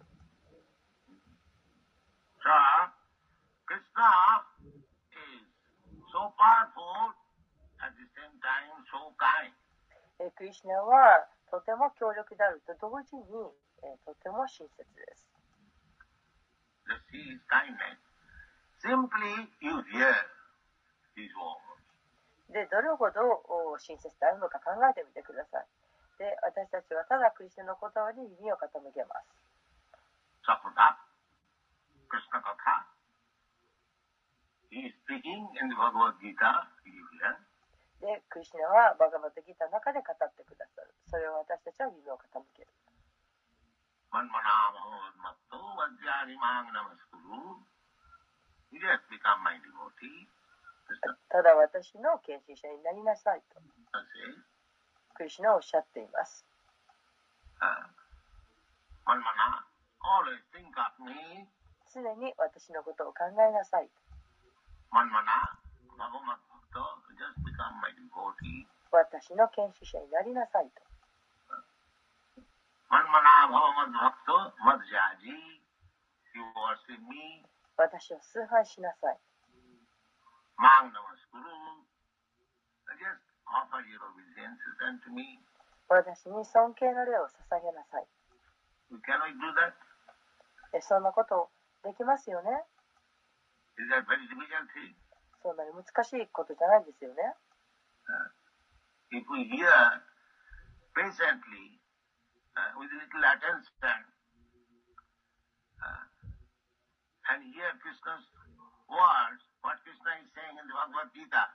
So, Krishna is so powerful, at the same time so kind. えークリシュナはとても強力であると同時に、えーとても親切です。 The sea is kindness. Simply you hear his words. で、どれほどお親切であるのか考えてみてください。で、私たちはただクリスチャンの言葉に耳を傾けます。 Sapata, Krishna Katha. He is speaking in the Bhagavad Gita, you hear. で、クリスチャンはバガバットギータの中で語ってくださる。それを私たちは耳を傾ける。 Manmana Bhagavad-matto Vajjarimang Namaskuru. You just become my devotee. Krishna ただ私の献身者になりなさいと says, クリスチャンはおっしゃっています。 uh, Manmana, always think of me. 常に私のことを考えなさい。 Manmana Bhagavad-matto, just become my devotee. 私の献身者になりなさいと。 Manmana Bhagavad-bhakto Madhyaji. You worship me. 私を崇拝しなさい。 Mang Namaskuru. Just offer your obeisances unto me. 私に尊敬の礼を捧げなさい。 You cannot do that. えそんなことできますよね。 Is that very difficult thing? そんなに難しいことじゃないですよね。 Uh, if we hear patiently, uh, with little attention, uh, and hear Krishna's words, what Krishna is saying in the Bhagavad Gita,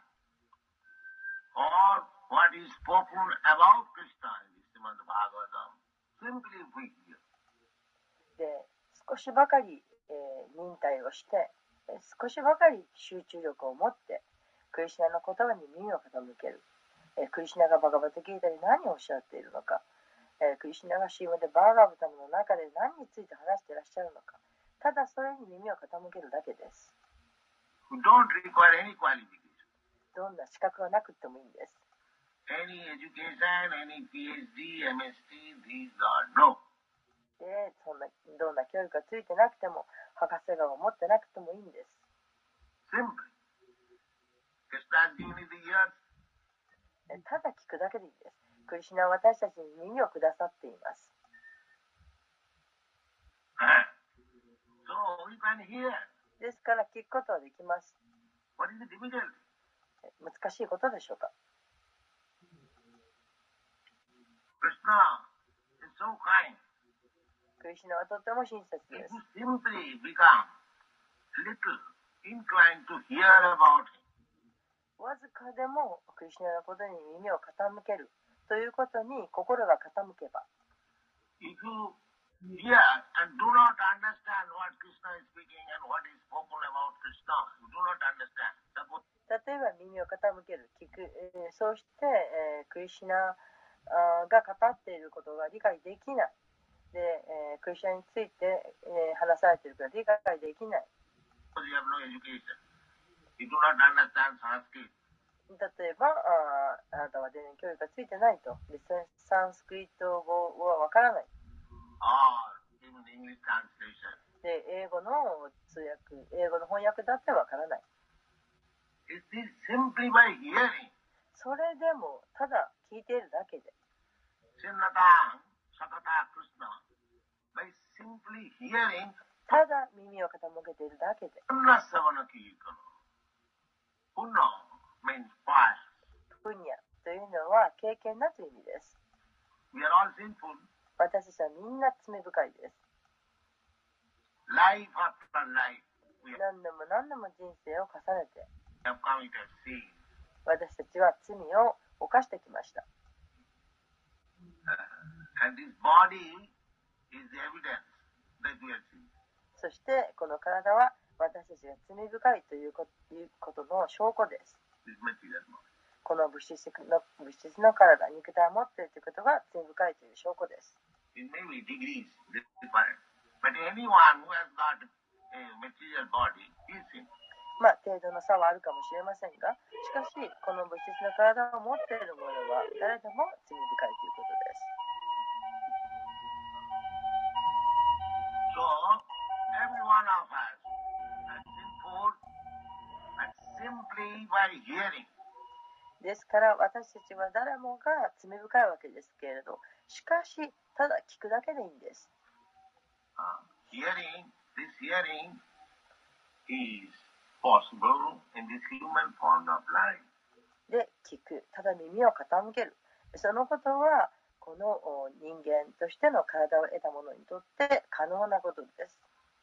or what is spoken about Krishna in the Srimad Bhagavatam, simply if we hear. で、少しばかり、えー忍耐をして、えー少しばかり集中力を持って、クリシュナの言葉に耳を傾ける。えークリシュナがバガバットギータで何をおっしゃっているのか、えークリシュナがシーマでバーガーブタムの中で何について話していらっしゃるのか、ただそれに耳を傾けるだけです。 We don't require any qualification, どんな資格がなくてもいいんです。 any education, any PhD, M S T, these are no. で、そんなどんな教育がついてなくても、博士号を持ってなくてもいいんです。 Simply. Krishna has given you the earth. えただ聞くだけでいいです。 クリシュナは私たちに耳をくださっています。 So we can hear. ですから聞くことはできます。 What is the difficulty? 難しいことでしょうか。 Krishna is so kind. クリシュナはとても親切 If です。 you simply become little inclined to hear about him, わずかでもクリシュナのことに耳を傾けるということに心が傾けば、 if you hear and do not understand what Krishna is speaking and what is spoken about Krishna, you do not understand. Suppose 例えば耳を傾ける、聞く、えーそうして、えークリシュナあーが語っていることが理解できない。で、えークリシュナについて、えー話されているから理解できない。 you have no education. You do not understand Sanskrit. 例えば、あーあなたは全然教育がついてないと。で、サンスクリット語はわからない。 Or even English translation. で、英語の通訳、英語の翻訳だってわからない。 It is simply by hearing. それでも、ただ聞いているだけで、 Sinnatang Sakata Krishna. By simply hearing, ただ耳を傾けているだけで、 Punna Savana Kirtana. Punna means fire. プニャというのは経験なという意味です。 We are all sinful. 私たちはみんな罪深いです。 Life after life, we 何度も何度も人生を重ねて、 have committed sin. 私たちは罪を犯してきました。 And this body is the evidence that we are sin. そしてこの体は私たちが罪深いというこということの証拠です。 This material body. この物質の物質の体、肉体を持っているということが罪深いという証拠です。 It may be degrees different. But anyone who has got a material body is sin. まあ程度の差はあるかもしれませんが、しかしこの物質の体を持っている者は誰でも罪深いということです。 So, every one of us is sinful, but simply by hearing. ですから私たちは誰もが罪深いわけですけれど、しかしただ聞くだけでいいんです。 Uh, hearing, this hearing is possible in this human form of life. で、聞く、ただ耳を傾ける。そのことはこのお人間としての体を得た者にとって可能なことです。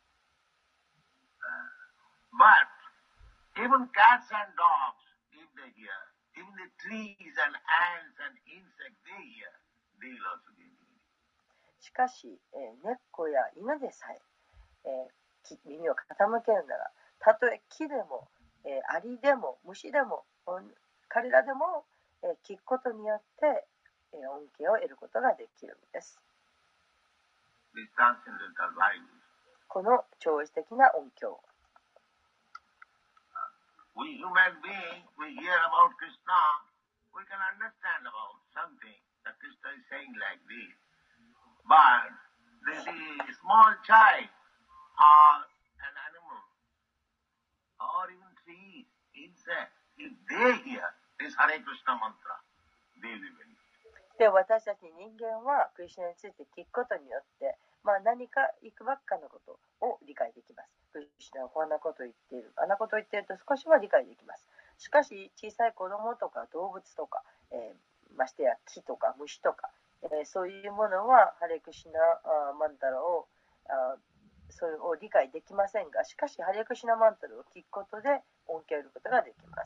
But even cats and dogs, if they hear, even the trees and ants and insects, they hear, they will also be hearing. しかし、えー猫や犬でさええーき耳を傾けるなら、たとえ木でも、えーアリでも虫でも、うん彼らでも、えー聞くことによって、えー恩恵を得ることができるんです。 This transcendental value. この超越的な恩恵を We human beings, we hear about Krishna, we can understand about something that Krishna is saying like this. But the, the small child or an animal or even trees, insects, if they hear this Hare Krishna mantra, they will benefit. で、私たち人間はクリシュナについて聞くことによって、まあ、何かいくばっかのことを理解できます。クリシュナはこんなことを言っている、あんなことを言っていると少しは理解できます。しかし小さい子供とか動物とか、えー、ましてや木とか虫とか、えー、そういうものはハレクシュナマンタラをあそれを理解できませんが、しかしハレクシュナマンタラを聞くことで恩恵を得ることができます。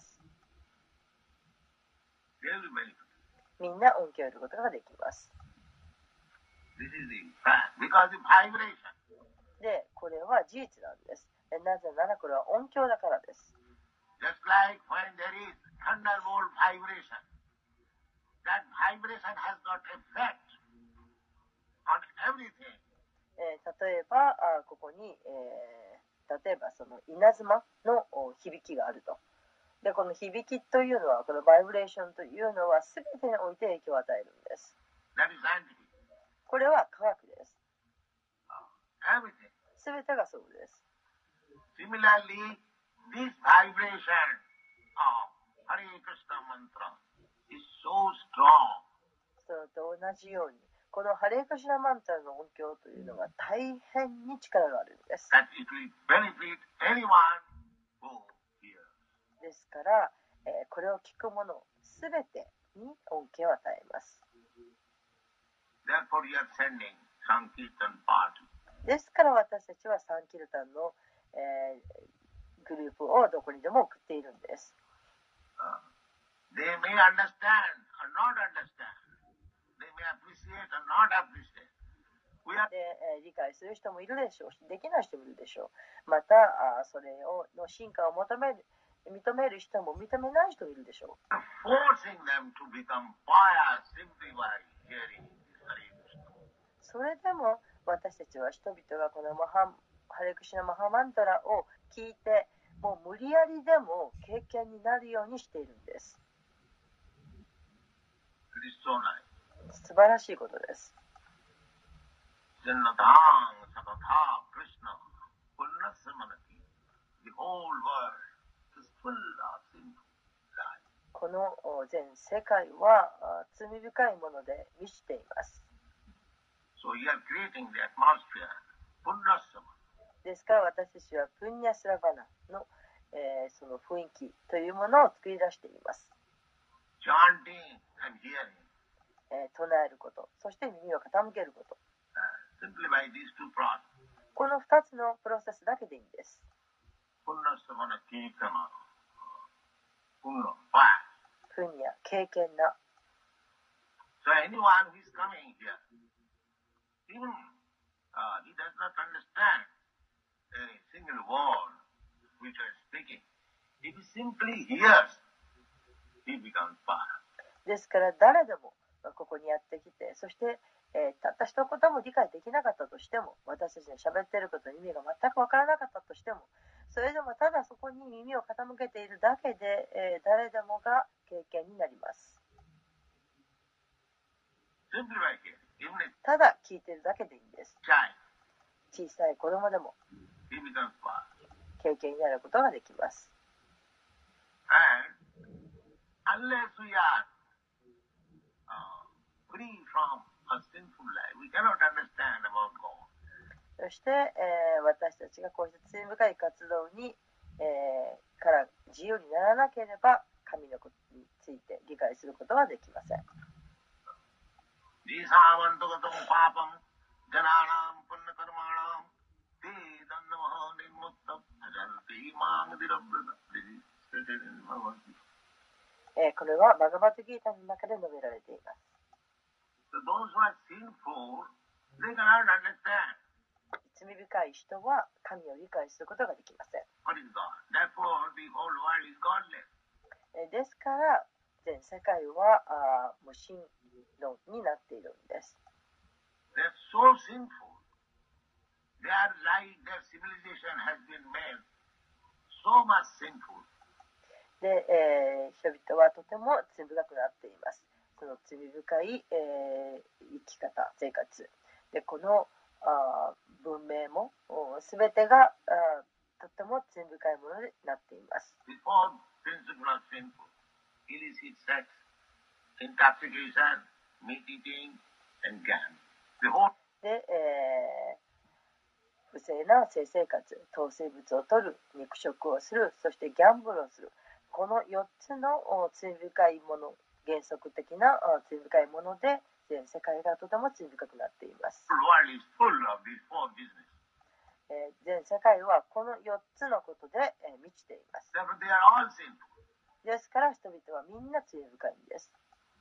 They will benefit. みんな恩恵を得ることができます。 This is the fact. Because the vibration. で、これは事実なんです。なぜならこれは音響だからです。 Just like when there is thunderbolt vibration, that vibration has got effect on everything. えー、例えばあここに、えー、例えばその稲妻の響きがあると。で、この響きというのは、このバイブレーションというのは全てにおいて影響を与えるんです。 That is scientific. これは科学です。 Everything. 全てがそうです。 Similarly, this vibration of Hare Krishna mantra is so strong. したのと同じように、このハレークシナマンタラの音響というのは大変に力があるんです。ですから、えー、これを聞く者すべてに恩恵を与えます。ですから私たちはサンキルタンの、えー、グループをどこにでも送っているんです。 They may understand or not understand. They may appreciate or not appreciate. We are... で、えー、理解する人もいるでしょうし、できない人もいるでしょう。また、あそれをの進化を求める、認める人も認めない人もいるでしょう。 Forcing them to become pious simply by hearing this. それでも私たちは人々がこのマハハレクシナマハマンタラを聞いて、もう無理やりでも経験になるようにしているんです。素晴らしいことです。この全世界は罪深いもので満ちています。ですから私たちはプンニャスラバナの、えー、その雰囲気というものを作り出しています。えー、唱えること、そして耳を傾けること。このふたつのプロセスだけでいいんです。プンニャ、経験な。 So anyone who is coming here, even uh, he does not understand a single word which I am speaking. If he simply hears, he becomes pious. ですから誰でもここにやってきて、そして、えー、たった一言も理解できなかったとしても、私たちの喋っていることの意味が全くわからなかったとしても、それでもただそこに耳を傾けているだけで、えー、誰でもが経験になります。ただ聞いているだけでいいんです。小さい子供でも経験になることができます。そして、えー、私たちがこうした罪深い活動に、えー、から自由にならなければ神のことについて理解することはできません。えー、これはバガバットギータの中で述べられています。罪深い人は神を理解することができません。ですから全世界はあ無神論になっているんです。で、えー、人々はとても罪深くなっています。その罪深い、えー、生き方、生活で、このあ文明もすべてがあとても罪深いものになっています。で、えー、不正な性生活、糖水物を取る、肉食をする、そしてギャンブルをする、このよっつの罪深いもの、原則的な罪深いもので全世界がとても罪深くなっています。えー、全世界はこのよっつのことで、えー、満ちています。ですから人々はみんな罪深いんです。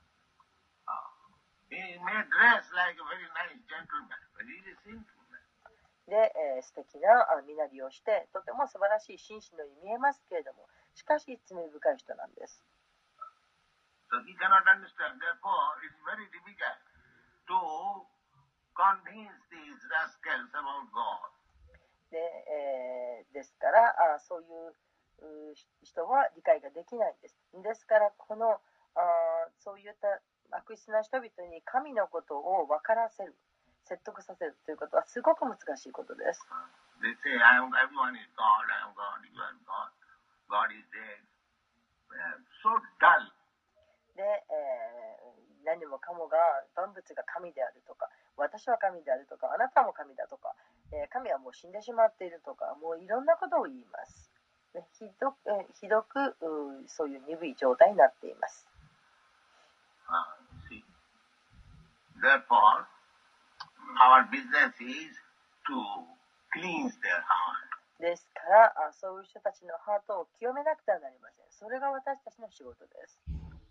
で、えー、素敵な身なりをしてとても素晴らしい紳士のように見えますけれども、しかし罪深い人なんです。 So he cannot understand. Therefore, it's very difficult to convince these rascals about God. で、えー、ですからあそういう人は理解ができないんです。ですからこのあそういった悪質な人々に神のことを分からせる、説得させるということはすごく難しいことです。 They say, I am, everyone is God, I am God, you are God, God is dead. So dull. で、えー、 何もかもが万物が神であるとか、私は神であるとか、あなたも神だとか、えー、神はもう死んでしまっているとか、もういろんなことを言います。ね、ひどく、えー、ひどくそういう鈍い状態になっています。 Uh, see. Therefore, our business is to cleanse their heart. ですから、そういう人たちのハートを清めなくてはなりません。それが私たちの仕事です。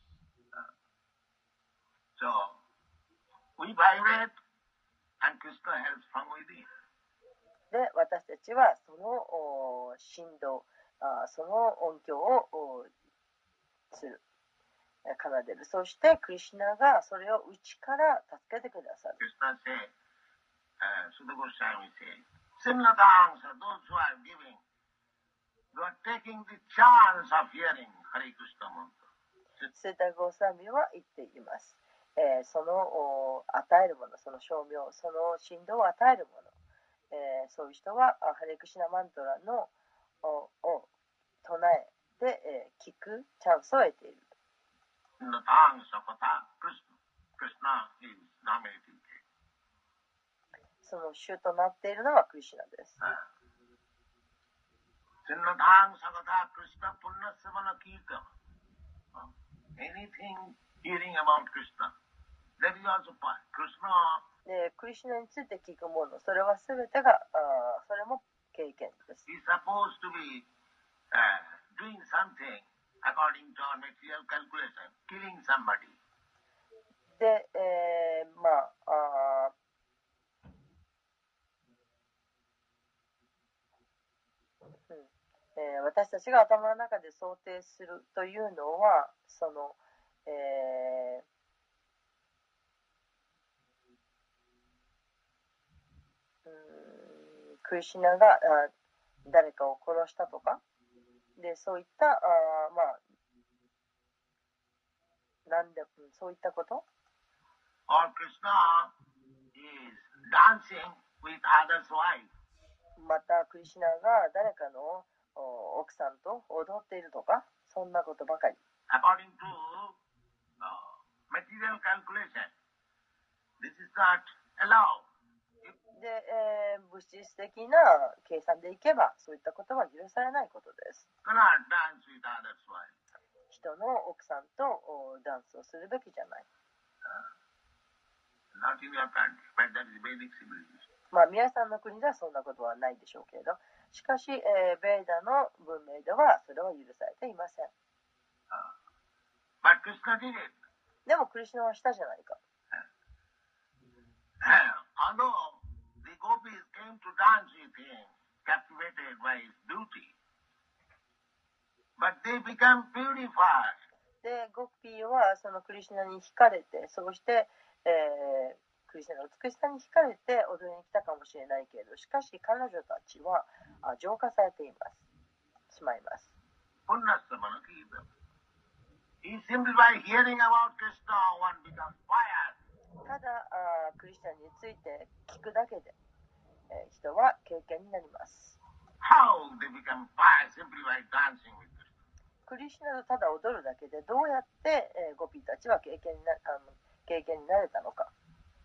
So, we vibrate and Krishna helps from within. で、私たちはその振動、その音響をする、奏でる。そして、クリシュナがそれを内から助けてくださる。 Krishna said, uh, Sudha Goswami said, Sinnatang, those who are giving, you are taking the chance of hearing Hare Krishna mantra. スータ・ゴーサミは言っています。えー、その与えるもの、その称名、その振動を与えるもの、えー、そういう人はハレクシナマントラのをを唱えて、えー、聞くチャンスを得ている。その主となっているのはクリシュナです。で、クリシュナについて聞くもの、それはすべてが、あそれも経験です。で、えー、まあ、あうんえー、私たちが頭の中で想定するというのは、その、えークリシュナがあ誰かを殺したとかで、そういったあまあなんでそういったこと。またクリシュナが誰かの奥さんと踊っているとか、そんなことばかり。 According to uh, material calculation, this is not allowed. で、えー、物質的な計算でいけば、そういったことは許されないことです。人の奥さんとダンスをするべきじゃない。まあ、皆さんの国ではそんなことはないでしょうけれど、しかし、えー、ベーダの文明ではそれは許されていません。でも、クリシュナはしたじゃないか。 Gopis came to dance with him, captivated by his beauty. But they become purified. で、ゴピーはそのクリシュナに惹かれて、そうして、えー、クリシュナの美しさに惹かれて踊りに来たかもしれないけれど、しかし彼女たちは浄化されています。しまいます。 Simply by hearing about Krishna, one becomes pious. ただあ、クリシュナについて聞くだけで、えー、人は経験になります。 How they become pious simply by dancing with Krishna. クリシュナとただ踊るだけでどうやって、えー、ゴピーたちは経験になあの経験になれたのか。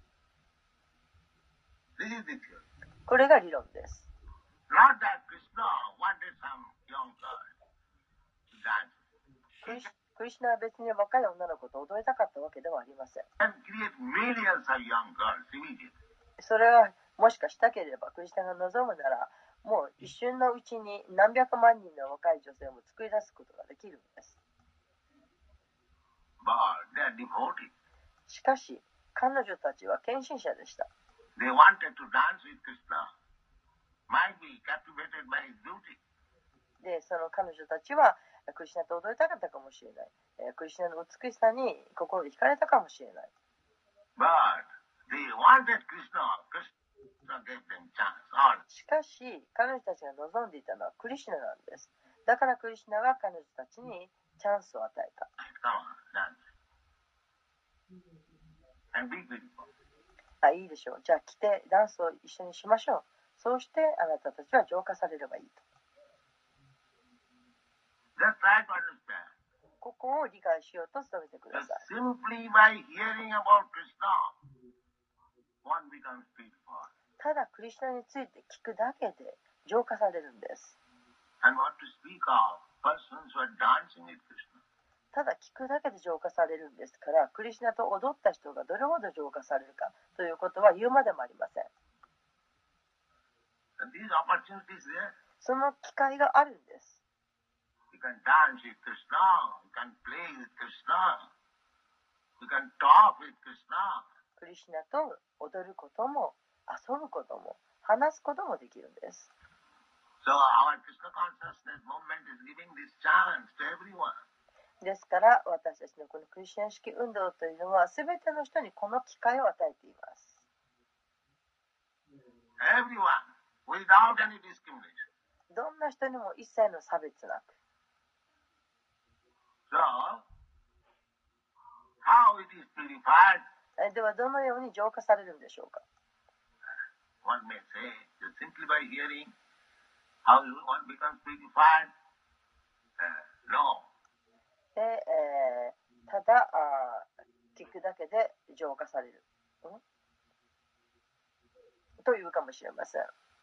This is the theory. これが理論です。 Not that Krishna wanted some young girl to dance. クリシクリシュナは別に若い女の子と踊りたかったわけではありません。 And create millions of young girls immediately. それはもしかしたければクリシュナが望むならもう一瞬のうちに何百万人の若い女性も作り出すことができるんです。 But they are devoted. しかし彼女たちは献身者でした。 They wanted to dance with Krishna. Might be captivated by his beauty. で、その彼女たちはクリシュナと踊りたかったかもしれない。クリシュナの美しさに心惹かれたかもしれない。 But they wanted Krishna. Krishna gave them chance. しかし彼女たちが望んでいたのはクリシュナなんです。だからクリシュナが彼女たちにチャンスを与えた。 And be beautiful. あ、いいでしょう。じゃあ来てダンスを一緒にしましょう。そうしてあなたたちは浄化されればいいと。 Just try to understand. ここを理解しようと努めてくだ Just さい。 simply by hearing about Krishna, one becomes purified. ただクリシュナについて聞くだけで浄化されるんです。 And what to speak of persons who are dancing with Krishna. ただ聞くだけで浄化されるんですから、クリシュナと踊った人がどれほど浄化されるかということは言うまでもありません。 And these opportunities there, その機会があるんです。 you can dance with Krishna, you can play with Krishna, you can talk with Krishna. クリシュナと踊ることも遊ぶことも話すこともできるんです。 So our Krishna consciousness movement is giving this chance to everyone. ですから私たちのこのクリシュナ式運動というのは全ての人にこの機会を与えています。 Everyone, without any discrimination. どんな人にも一切の差別なく。 So, how it is purified? えではどのように浄化されるんでしょうか。 One may say, just simply by hearing how one becomes purified. Uh, no. でえー、ただあ聞くだけで浄化される、うん、というかもしれません。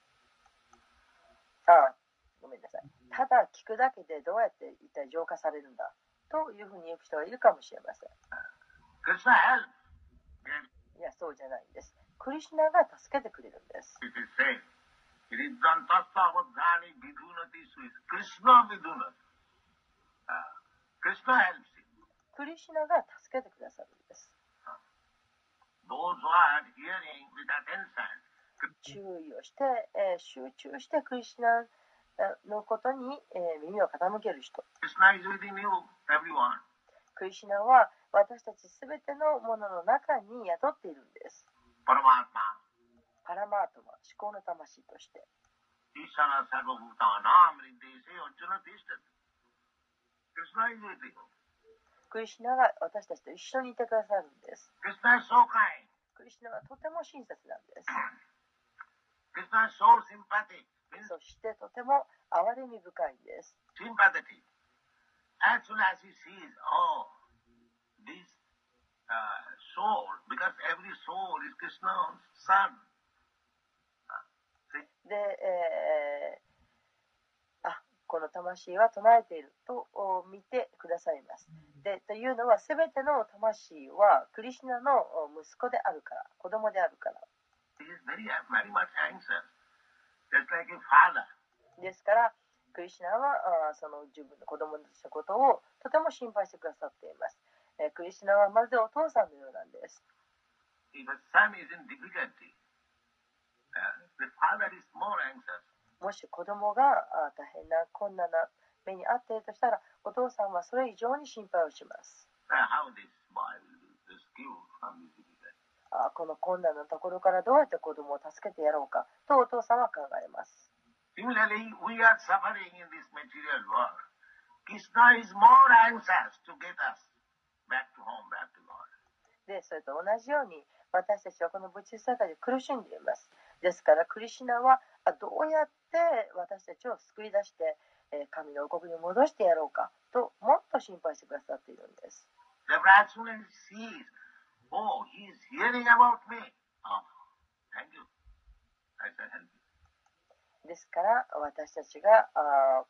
あごめんなさい。ただ聞くだけでどうやって一体浄化されるんだというふうに言う人がいるかもしれません。 Krishna helps. いや、そうじゃないんです。クリシュナが助けてくれるんです。 It is said, Iriddhantasthavadhani vidhunati suis. Krishna vidhunati. Uh, Krishna helps him. クリシュナが助けてくださるんです。 Those who are hearing with attention, 注意をして、えー集中してクリシュナのことに、えー耳を傾ける人。 Krishna is within you, everyone. クリシュナは私たちすべてのものの中に宿っているんです。 Paramatma. パラマートマ、思考の魂として。 Ishana sarvabhutanam riddhese arjuna tishtati. Krishna is with you. クリシュナが私たちと一緒にいてくださるんです。 Krishna is so kind. クリシュナはとても親切なんです。 Krishna is so sympathetic. Means そしてとても憐れみ深いんです。 sympathetic. As soon as he sees, oh, this uh, soul, because every soul is Krishna's son. Uh, see? で、えーあこの魂は唱えているとお見てくださいます。でというのはすべての魂はクリシュナのお息子であるから、子供であるから。 He is very, very much anxious, just like a father. ですからクリシュナはあその自分の子供たちのことをとても心配してくださっています。えークリシュナはまるでお父さんのようなんです。 If a son is in difficulty, uh, the father is more anxious. もし子供があ大変な困難な目に遭っているとしたら、お父さんはそれ以上に心配をします。 Uh, how this boy will be rescued from this difficulty. あこの困難なところからどうやって子供を助けてやろうかとお父さんは考えます。 Similarly, we are suffering in this material world. Krishna is more anxious to get us back to home, back to God. で、それと同じように私たちはこの物質世界で苦しんでいます。ですからクリシュナはあどうやって私たちを救い出して、えー神の王国に戻してやろうかともっと心配してくださっているんです。 Therefore, as soon as he sees, oh, he is hearing about me. Oh, thank you. I shall help you. ですから私たちがあ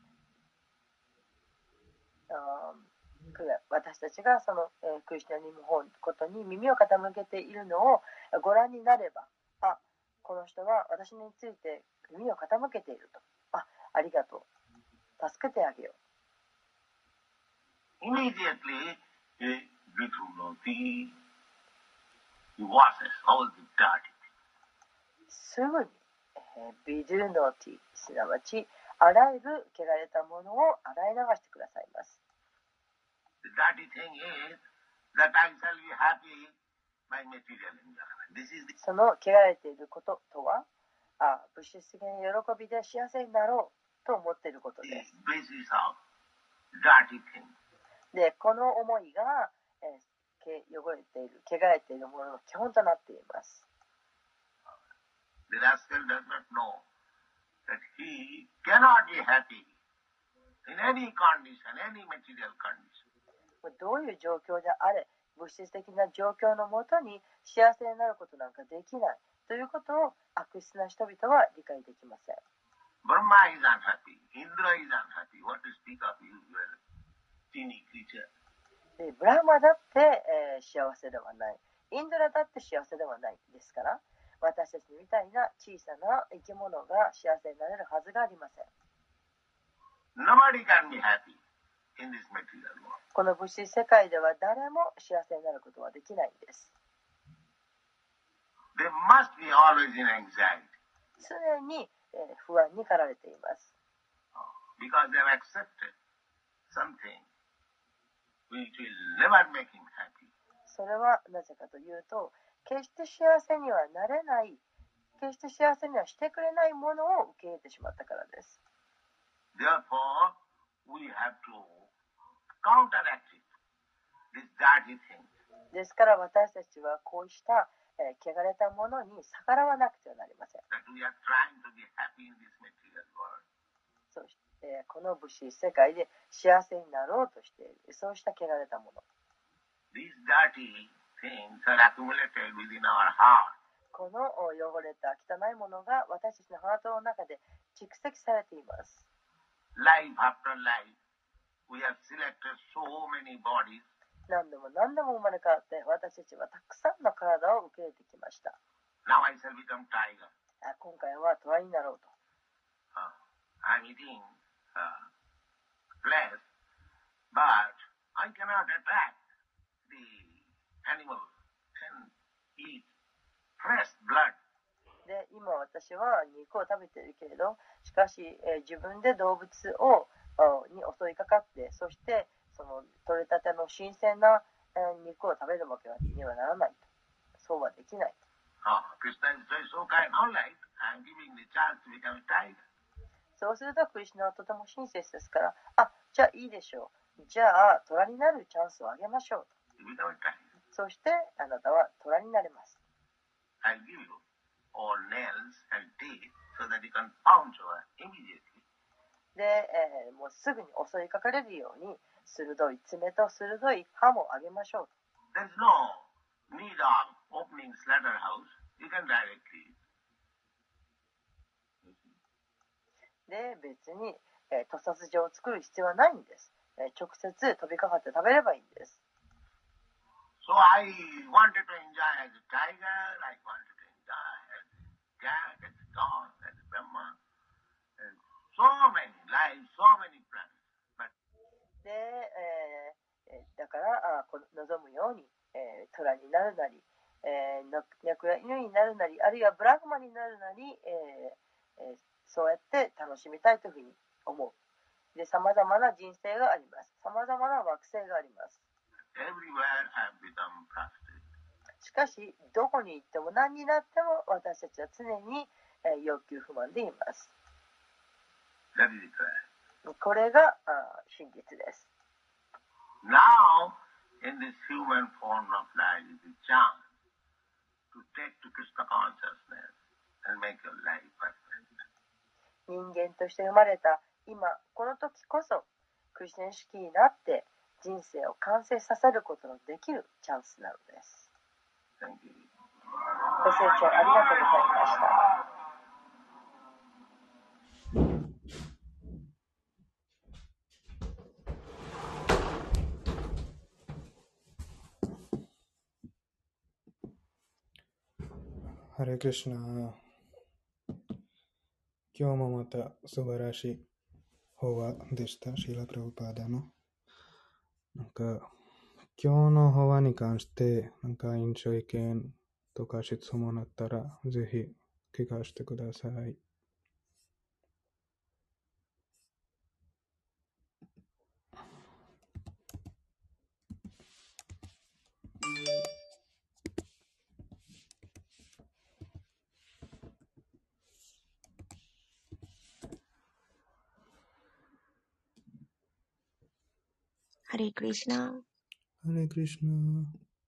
あ私たちがその、えークリシュナにのことに耳を傾けているのをご覧になれば、あこの人は私について耳を傾けていると、あありがとう、助けてあげよ Immediately, a Vidhunati, he washes all the dirty. う。すぐに、えービドゥノティ、すなわちあらゆる汚れたものを洗い流してくださいます。 The dirty thing is that I shall be happy by material enjoyment. This is the その汚れていることとは、あ物質的な喜びで幸せになろうと思っていることです。 basis of dirty thing. で、この思いが、えーけ汚れている、汚れているものの基本となっています。 The rascal does not know that he cannot be happy in any condition, any material condition. どういう状況であれ、物質的な状況のもとに幸せになることなんかできないということを悪質な人々は理解できません。 Brahma is unhappy. Indra is unhappy. What to speak of you, you are a teeny creature. でブラマだって、えー、幸せではない。インドラだって幸せではないですから、私たちみたいな小さな生き物が幸せになれるはずがありません。 Nobody can be happy in this material world. この物質世界では誰も幸せになることはできないんです。 They must be always in anxiety. 常に、えー、不安に駆られています。 Because they have accepted something which will never make him happy. それはなぜかというと、決して幸せにはなれない、決して幸せにはしてくれないものを受け入れてしまったからです。 Therefore, we have to counteract it, this dirty thing. ですから私たちはこうした、えー、汚れたものに逆らわなくてはなりません。 That we are trying to be happy in this material world. そして、この物質世界で幸せになろうとしている、そうした汚れたもの。 These dirty things are accumulated within our heart. この汚れた汚いものが私たちのハートの中で蓄積されています。 Life after life, we have selected so many bodies. 何度も何度も生まれ変わって私たちはたくさんの体を受け入れてきました。 Now I shall become tiger. 今回は虎になろうと。 Uh, I'm eating uh, flesh, but I cannot attack the animal and eat fresh blood. で、今私は肉を食べているけれど、しかし、えー、自分で動物をに襲いかかって、そしてその取れたての新鮮な、えー、肉を食べるわけにはならないと。そうはできない。 Oh, Krishna is so kind. All right, I'm giving the chance to become a tiger. そうするとクリシュナはとても親切ですから、あ、じゃあいいでしょう。じゃあ虎になるチャンスをあげましょうと。そしてあなたは虎になれます。 I'll give you all nails and teeth so that you can pounce her immediately. で、えー、もうすぐに襲いかかれるように鋭い爪と鋭い歯もあげましょうと。 There's no need of opening slaughterhouse. You can directly. で、別に、えー、屠殺場を作る必要はないんです。えー、直接飛びかかって食べればいいんです。 So I wanted to enjoy as a tiger, I wanted to enjoy as a cat, as a dog, as a Brahma, and so many lives, so many planets. But で、えー、だからあこ望むように、えー、虎になるなり、えー、猫や犬になるなり、あるいはブラグマになるなり、えーえー、そうやって楽しみたいというふうに思う。で、様々な人生があります。様々な惑星があります。 everywhere I have become prostrate. しかし、どこに行っても何になっても私たちは常に、えー、欲求不満でいます。 That is it. これがあ真実です。 Now, in this human form of life, is a chance to take to Krishna consciousness and make your life perfect. 人間として生まれた今、この時こそ、クリスチャン意識になって人生を完成させることのできるチャンスなのです。 Thank you. ご清聴ありがとうございました。 ハレクリシュナ。今日もまた素晴らしい法話でした。シーラ・プラブパーダの。なんか、今日の法話に関して、なんか印象意見とか質問あったら、ぜひ聞かせてください。 ハレクリシュナ。 ハレクリシュナ。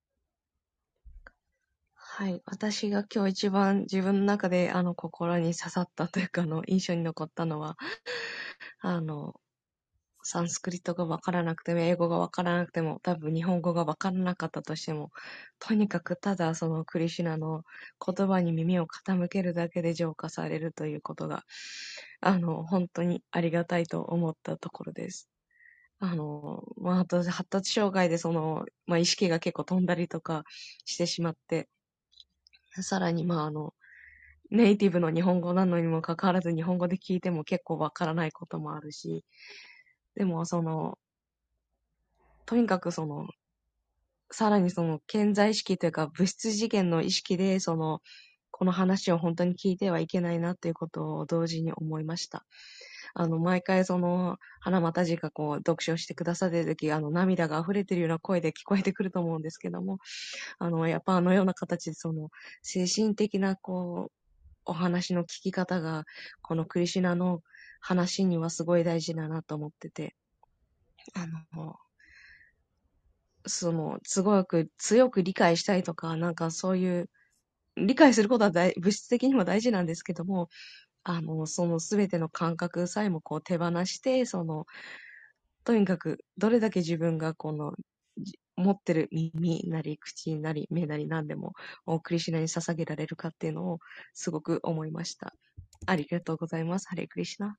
はい。私が今日一番自分の中であの心に刺さったというかあの印象に残ったのは、あの、 サンスクリットがわからなくても、英語がわからなくても、多分日本語がわからなかったとしても、とにかくただそのクリシュナの言葉に耳を傾けるだけで浄化されるということが、あの、本当にありがたいと思ったところです。あの、まあ、私、発達障害でその、まあ、意識が結構飛んだりとかしてしまって、さらに、まあ、あの、ネイティブの日本語なのにもかかわらず日本語で聞いても結構わからないこともあるし、でもその、とにかくその、さらにその潜在意識というか物質次元の意識でその、この話を本当に聞いてはいけないなっていうことを同時に思いました。あの、毎回その、花又寺がこう、読書してくださってるとき、あの、涙が溢れてるような声で聞こえてくると思うんですけども、あの、やっぱあのような形でその、精神的なこう、お話の聞き方が、このクリシュナの話にはすごい大事だなと思ってて、あの、その、すごく強く理解したいとか、なんかそういう、理解することは大物質的にも大事なんですけども、あの、そのすべての感覚さえもこう手放して、その、とにかくどれだけ自分がこの、じ持ってる耳なり口なり目なり何でも、クリシュナに捧げられるかっていうのをすごく思いました。ありがとうございます。ハレクリシュナ。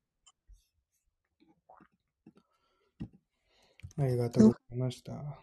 ありがとうございました。はい、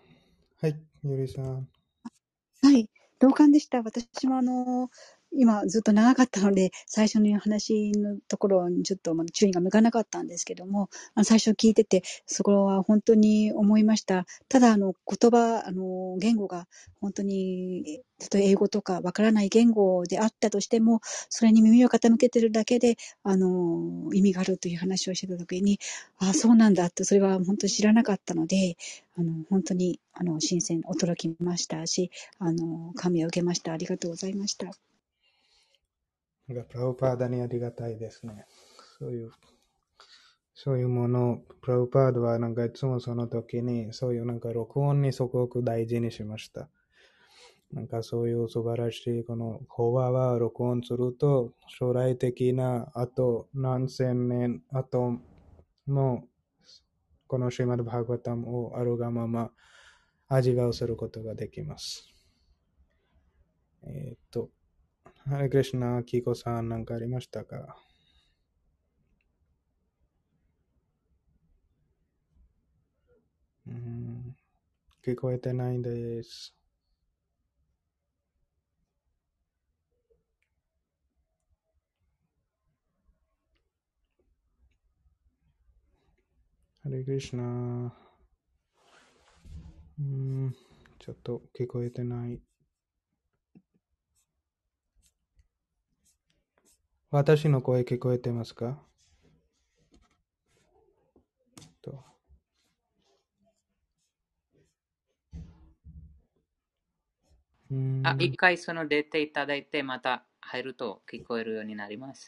ゆりさん。 はい。同感でした。私もあの、今ずっと長かったので、最初の話のところにちょっとまだ注意が向かなかったんですけども、あの最初聞いてて、そこは本当に思いました。ただ、あの、言葉、あの、言語が本当に、例えば英語とかわからない言語であったとしても、それに耳を傾けてるだけで、あの、意味があるという話をしてたときに、ああ、そうなんだって、それは本当に知らなかったので、あの、本当に、あの、新鮮、驚きましたし、あの、感銘を受けました。ありがとうございました。 なんかプラブパーダにありがたいですね。そういう、そういうものを、プラブパーダはなんかいつもその時に、そういうなんか録音にすごく大事にしました。なんかそういう素晴らしいこの法話は録音すると、将来的なあと何千年後も、このシリマッドバーガバタムをあるがまま味わうすることができます。えっと、ハレクリシュナ、キコさん、なんかありましたか？うーん、聞こえてないです。ハレクリシュナ、うーん、ちょっと聞こえてない。私の声聞こえてますか？とうーんあ、一回その出ていただいて、また入ると聞こえるようになります。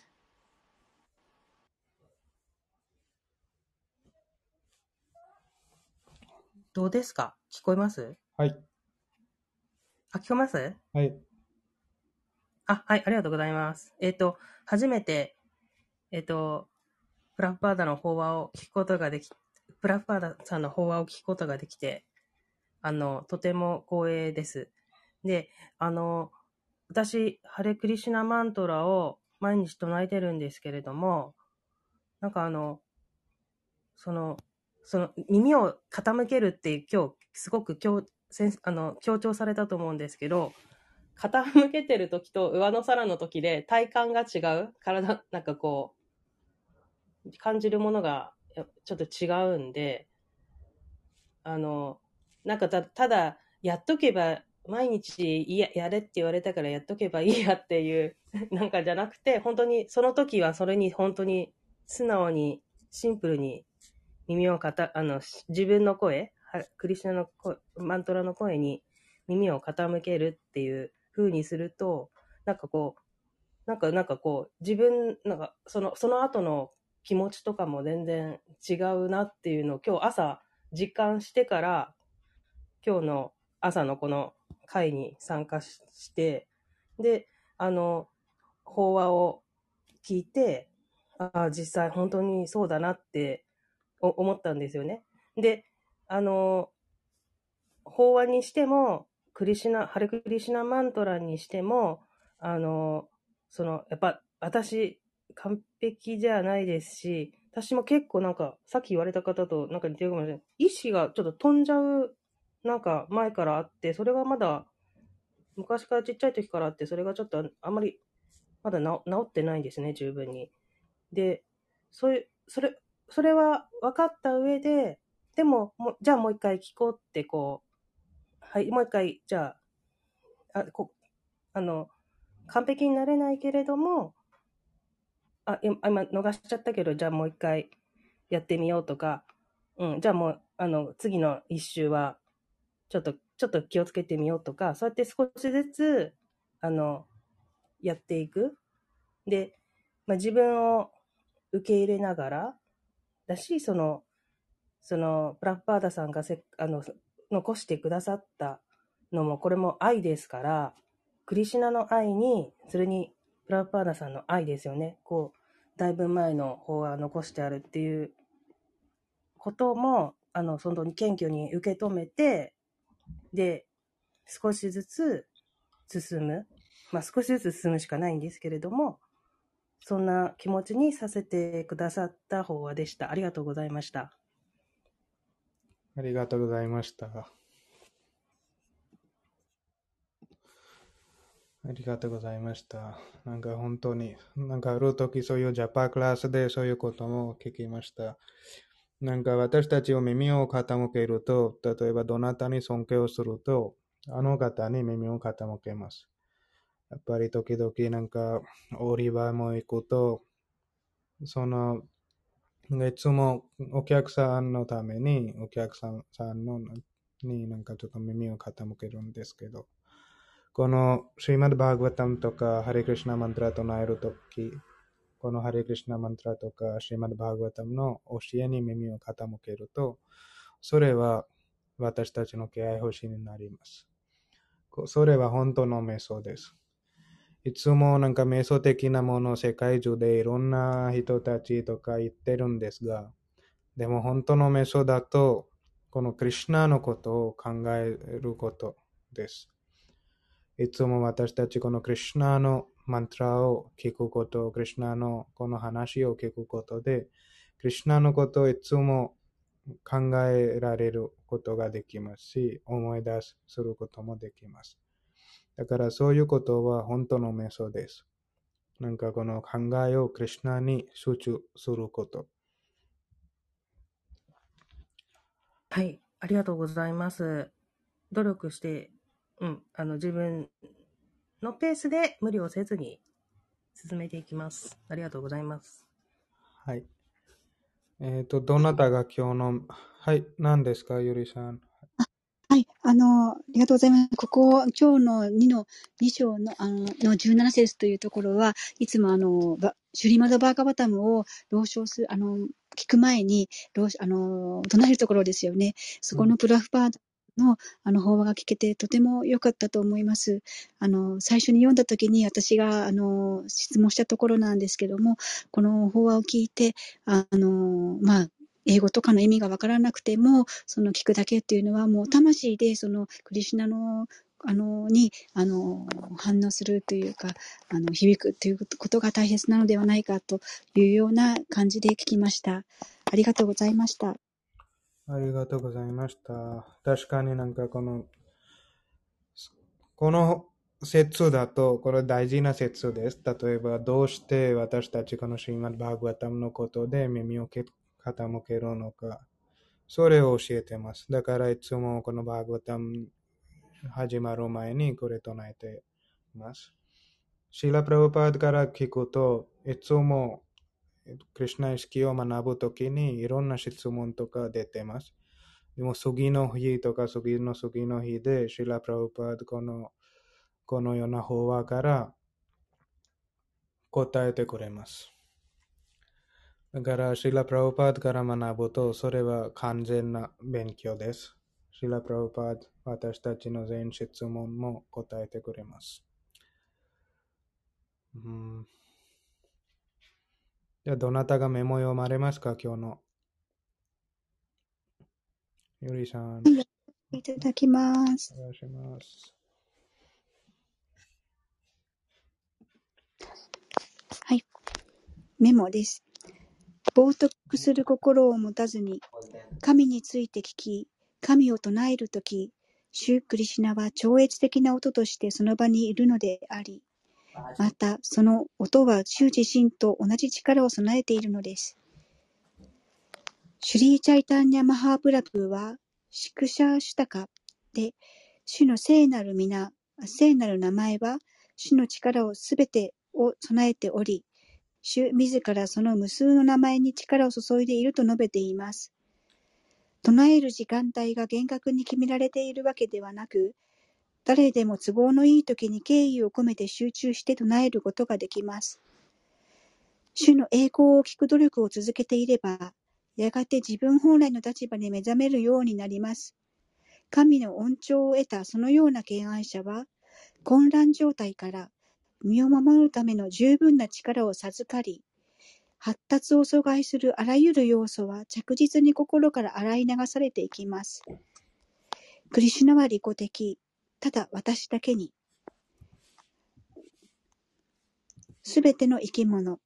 どうですか？聞こえます？ はい。 あ、聞こえます？ はい。 あ、はい、ありがとうございます。えっ、と、初めて、えっ、と、プラフパーダの法話を聞くことができ、プラフパーダさんの法話を聞くことができて、あの、とても光栄です。で、あの、私、ハレクリシュナマントラを毎日唱えてるんですけれども、なんかあの、その、その耳を傾けるって今日すごく強あの強調されたと思うんですけど、傾けてる時と上の空の時で体感が違う、体なんかこう感じるものがちょっと違うんで、あのなんか た, ただやっとけば毎日ややれって言われたからやっとけばいいやっていうなんかじゃなくて、本当にその時はそれに本当に素直にシンプルに耳をかたあの自分の声、クリシュナの声、マントラの声に耳を傾けるっていう風にすると、なんかこうなんかなんかこう自分なんかそのその後の気持ちとかも全然違うなっていうのを今日朝実感してから、今日の朝のこの会に参加して、であの法話を聞いて、ああ実際本当にそうだなって思ったんですよね。で、あの、法話にしても、クリシナ、ハレクリシナマントラにしても、あの、その、やっぱ、私、完璧じゃないですし、私も結構なんか、さっき言われた方となんか似てるかもしれない。意識がちょっと飛んじゃう、なんか前からあって、それがまだ、昔からちっちゃい時からあって、それがちょっとあんまり、まだ治治ってないんですね、十分に。で、そういう、それ、それは分かった上で、でも、もうじゃあもう一回聞こうってこう、はい、もう一回、じゃあ、あ、こあの、完璧になれないけれども、あ、今今逃しちゃったけど、じゃあもう一回やってみようとか、うん、じゃあもう、あの、次の一周は、ちょっと、ちょっと気をつけてみようとか、そうやって少しずつ、あの、やっていく。で、まあ、自分を受け入れながら、だし、その、その、プラッパーダさんがせあの残してくださったのも、これも愛ですから、クリシュナの愛に、それにプラッパーダさんの愛ですよね。こう、だいぶ前の法話を残してあるっていうことも、あの、その謙虚に受け止めて、で、少しずつ進む。まあ、少しずつ進むしかないんですけれども、そんな気持ちにさせてくださった法話でした。ありがとうございました。 ありがとうございました。ありがとうございました。なんか本当に、なんかある時そういうジャパクラスでそういうことも聞きました。なんか私たちを耳を傾けると、例えばどなたに尊敬をすると、あの方に耳を傾けます。やっぱり時々なんか売り場も行くと、そのいつもお客さんのためにお客さんのになんかちょっと耳を傾けるんですけど、このシリマッドバーガバタムとかハレクリシナマントラとなえるとき、このハレクリシナマントラとかシリマッドバーガバタムの教えに耳を傾けると、それは私たちの敬愛星になります。それは本当の瞑想です。いつもなんか瞑想的なものを世界中でいろんな人たちとか言ってるんですが、でも本当の瞑想だと、このクリシュナのことを考えることです。いつも私たちこのクリシュナのマントラを聞くこと、クリシュナのこの話を聞くことで、クリシュナのことをいつも考えられることができますし、思い出することもできます。だからそういうことは本当の瞑想です。なんかこの考えをクリシュナに集中すること。 はい、ありがとうございます。努力して、うん、あの自分のペースで無理をせずに進めていきます。ありがとうございます。 はい。えっと、どなたが今日の、はい、何ですか、ゆりさん。 はい、あの、ありがとうございます。ここ、今日のにの、に章の、あの、のじゅうなな節というところは、いつもあの、ばシュリマドバーガバタムを朗唱する、あの、聞く前に、朗あの、唱えるところですよね。そこのプラフパーダの、あの、法話が聞けて、とても良かったと思います。あの、最初に読んだ時に、私が、あの、質問したところなんですけども、この法話を聞いて、あの、まあ、英語とかの意味がわからなくても、その聞くだけっていうのはもう魂でそのクリシュナのあのにあの反応するというか、あの響くということが大切なのではないかというような感じで聞きました。ありがとうございました。 ありがとうございました。確かになんかこの、この説だと、これ大事な説です。例えば、どうして私たちこのシリマッドバーガバタムのことで耳を傾けるのか。それを教えてます。だからいつもこのバーガバタム始まる前にこれ唱えています。シーラ・プラブパードから聞くと、いつもクリシュナ意識を学ぶときにいろんな質問とか出てます。でも次の日とか次の次の日でシーラ・プラブパードこのこのような法話から答えてくれます。だからシーラ・プラブパードから学ぶとそれは完全な勉強です。シーラ・プラブパード私たちの全質問も答えてくれます。うん、じゃあどなたがメモ読まれますか、今日の。 ゆりさん、 はい、いただきます。 お願いします。 はい、メモです。冒涜する心を持たずに、神について聞き、神を唱えるとき、シュークリシュナは超越的な音としてその場にいるのであり、またその音はシュ自身と同じ力を備えているのです。シュリーチャイタンニャマハープラプーは、シクシャーシュタカで、主の聖なる皆、聖なる名前は、主の力をすべてを備えており、主自らその無数の名前に力を注いでいると述べています。唱える時間帯が厳格に決められているわけではなく、誰でも都合のいい時に敬意を込めて集中して唱えることができます。主の栄光を聞く努力を続けていれば、やがて自分本来の立場に目覚めるようになります。神の恩寵を得たそのような敬愛者は、混乱状態から身を守るための十分な力を授かり、発達を阻害するあらゆる要素は着実に心から洗い流されていきます。クリシュナは利己的、ただ私だけに。すべての生き物、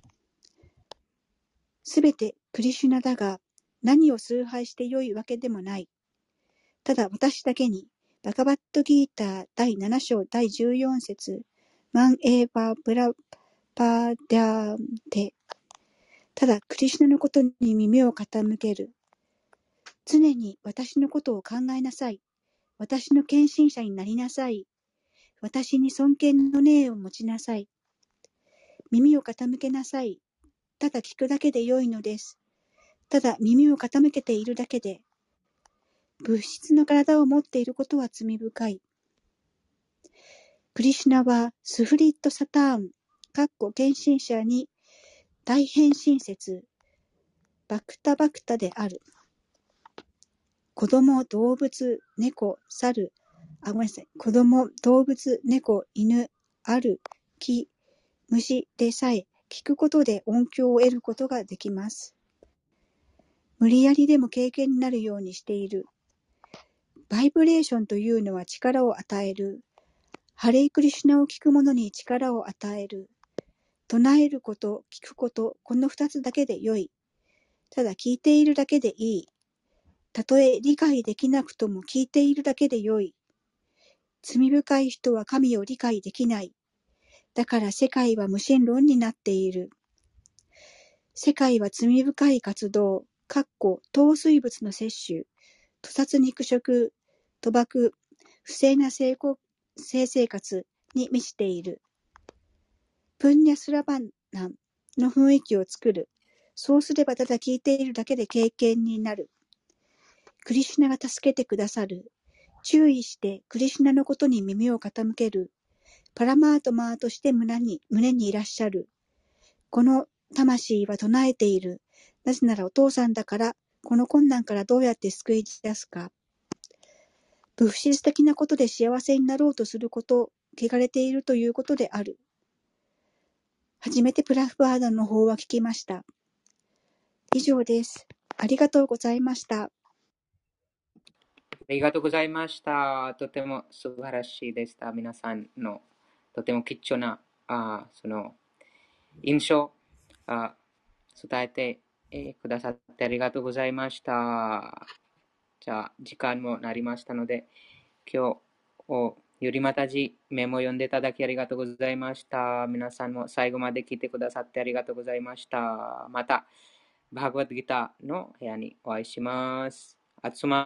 すべてクリシュナだが、何を崇拝してよいわけでもない。ただ私だけに、バガバットギーターだいなな章だいじゅうよん節、マンエーバブラパーダーテ。ただクリシュナのことに耳を傾ける。常に私のことを考えなさい。私の献身者になりなさい。私に尊敬の念を持ちなさい。耳を傾けなさい。ただ聞くだけでよいのです。ただ耳を傾けているだけで。物質の体を持っていることは罪深い。クリシュナはスフリットサターン、かっこ献身者に大変身説、バクタバクタである。子供、動物、猫、猿、あ、ごめんなさい。子供、動物、猫、犬、ある、木、虫でさえ聞くことで音響を得ることができます。無理やりでも経験になるようにしている。バイブレーションというのは力を与える。ハレイクリシュナを聞く者に力を与える。唱えること、聞くこと、この二つだけでよい。ただ聞いているだけでいい。たとえ理解できなくとも聞いているだけでよい。罪深い人は神を理解できない。だから世界は無神論になっている。世界は罪深い活動、かっこ糖水物の摂取、屠殺肉食、賭博、不正な性生活に満ちている。プンニャスラバンナンの雰囲気を作る。そうすればただ聞いているだけで経験になる。クリシュナが助けてくださる。注意してクリシュナのことに耳を傾ける。パラマートマーとして胸に、胸にいらっしゃる。この魂は唱えている。なぜならお父さんだから、この困難からどうやって救い出すか。物質的なことで幸せになろうとすること、汚れているということである。初めてプラフバーダの法は聞きました。以上です。ありがとうございました。 ありがとうございました。とても素晴らしいでした。皆さんのとても貴重なあその印象あ伝えて、えー、くださってありがとうございました。じゃあ、時間もなりましたので、今日をゆりまたじメモを読んでいただきありがとうございました。皆さんも最後まで聞いてくださってありがとうございました。また、バーガバッドギターの部屋にお会いします。あつま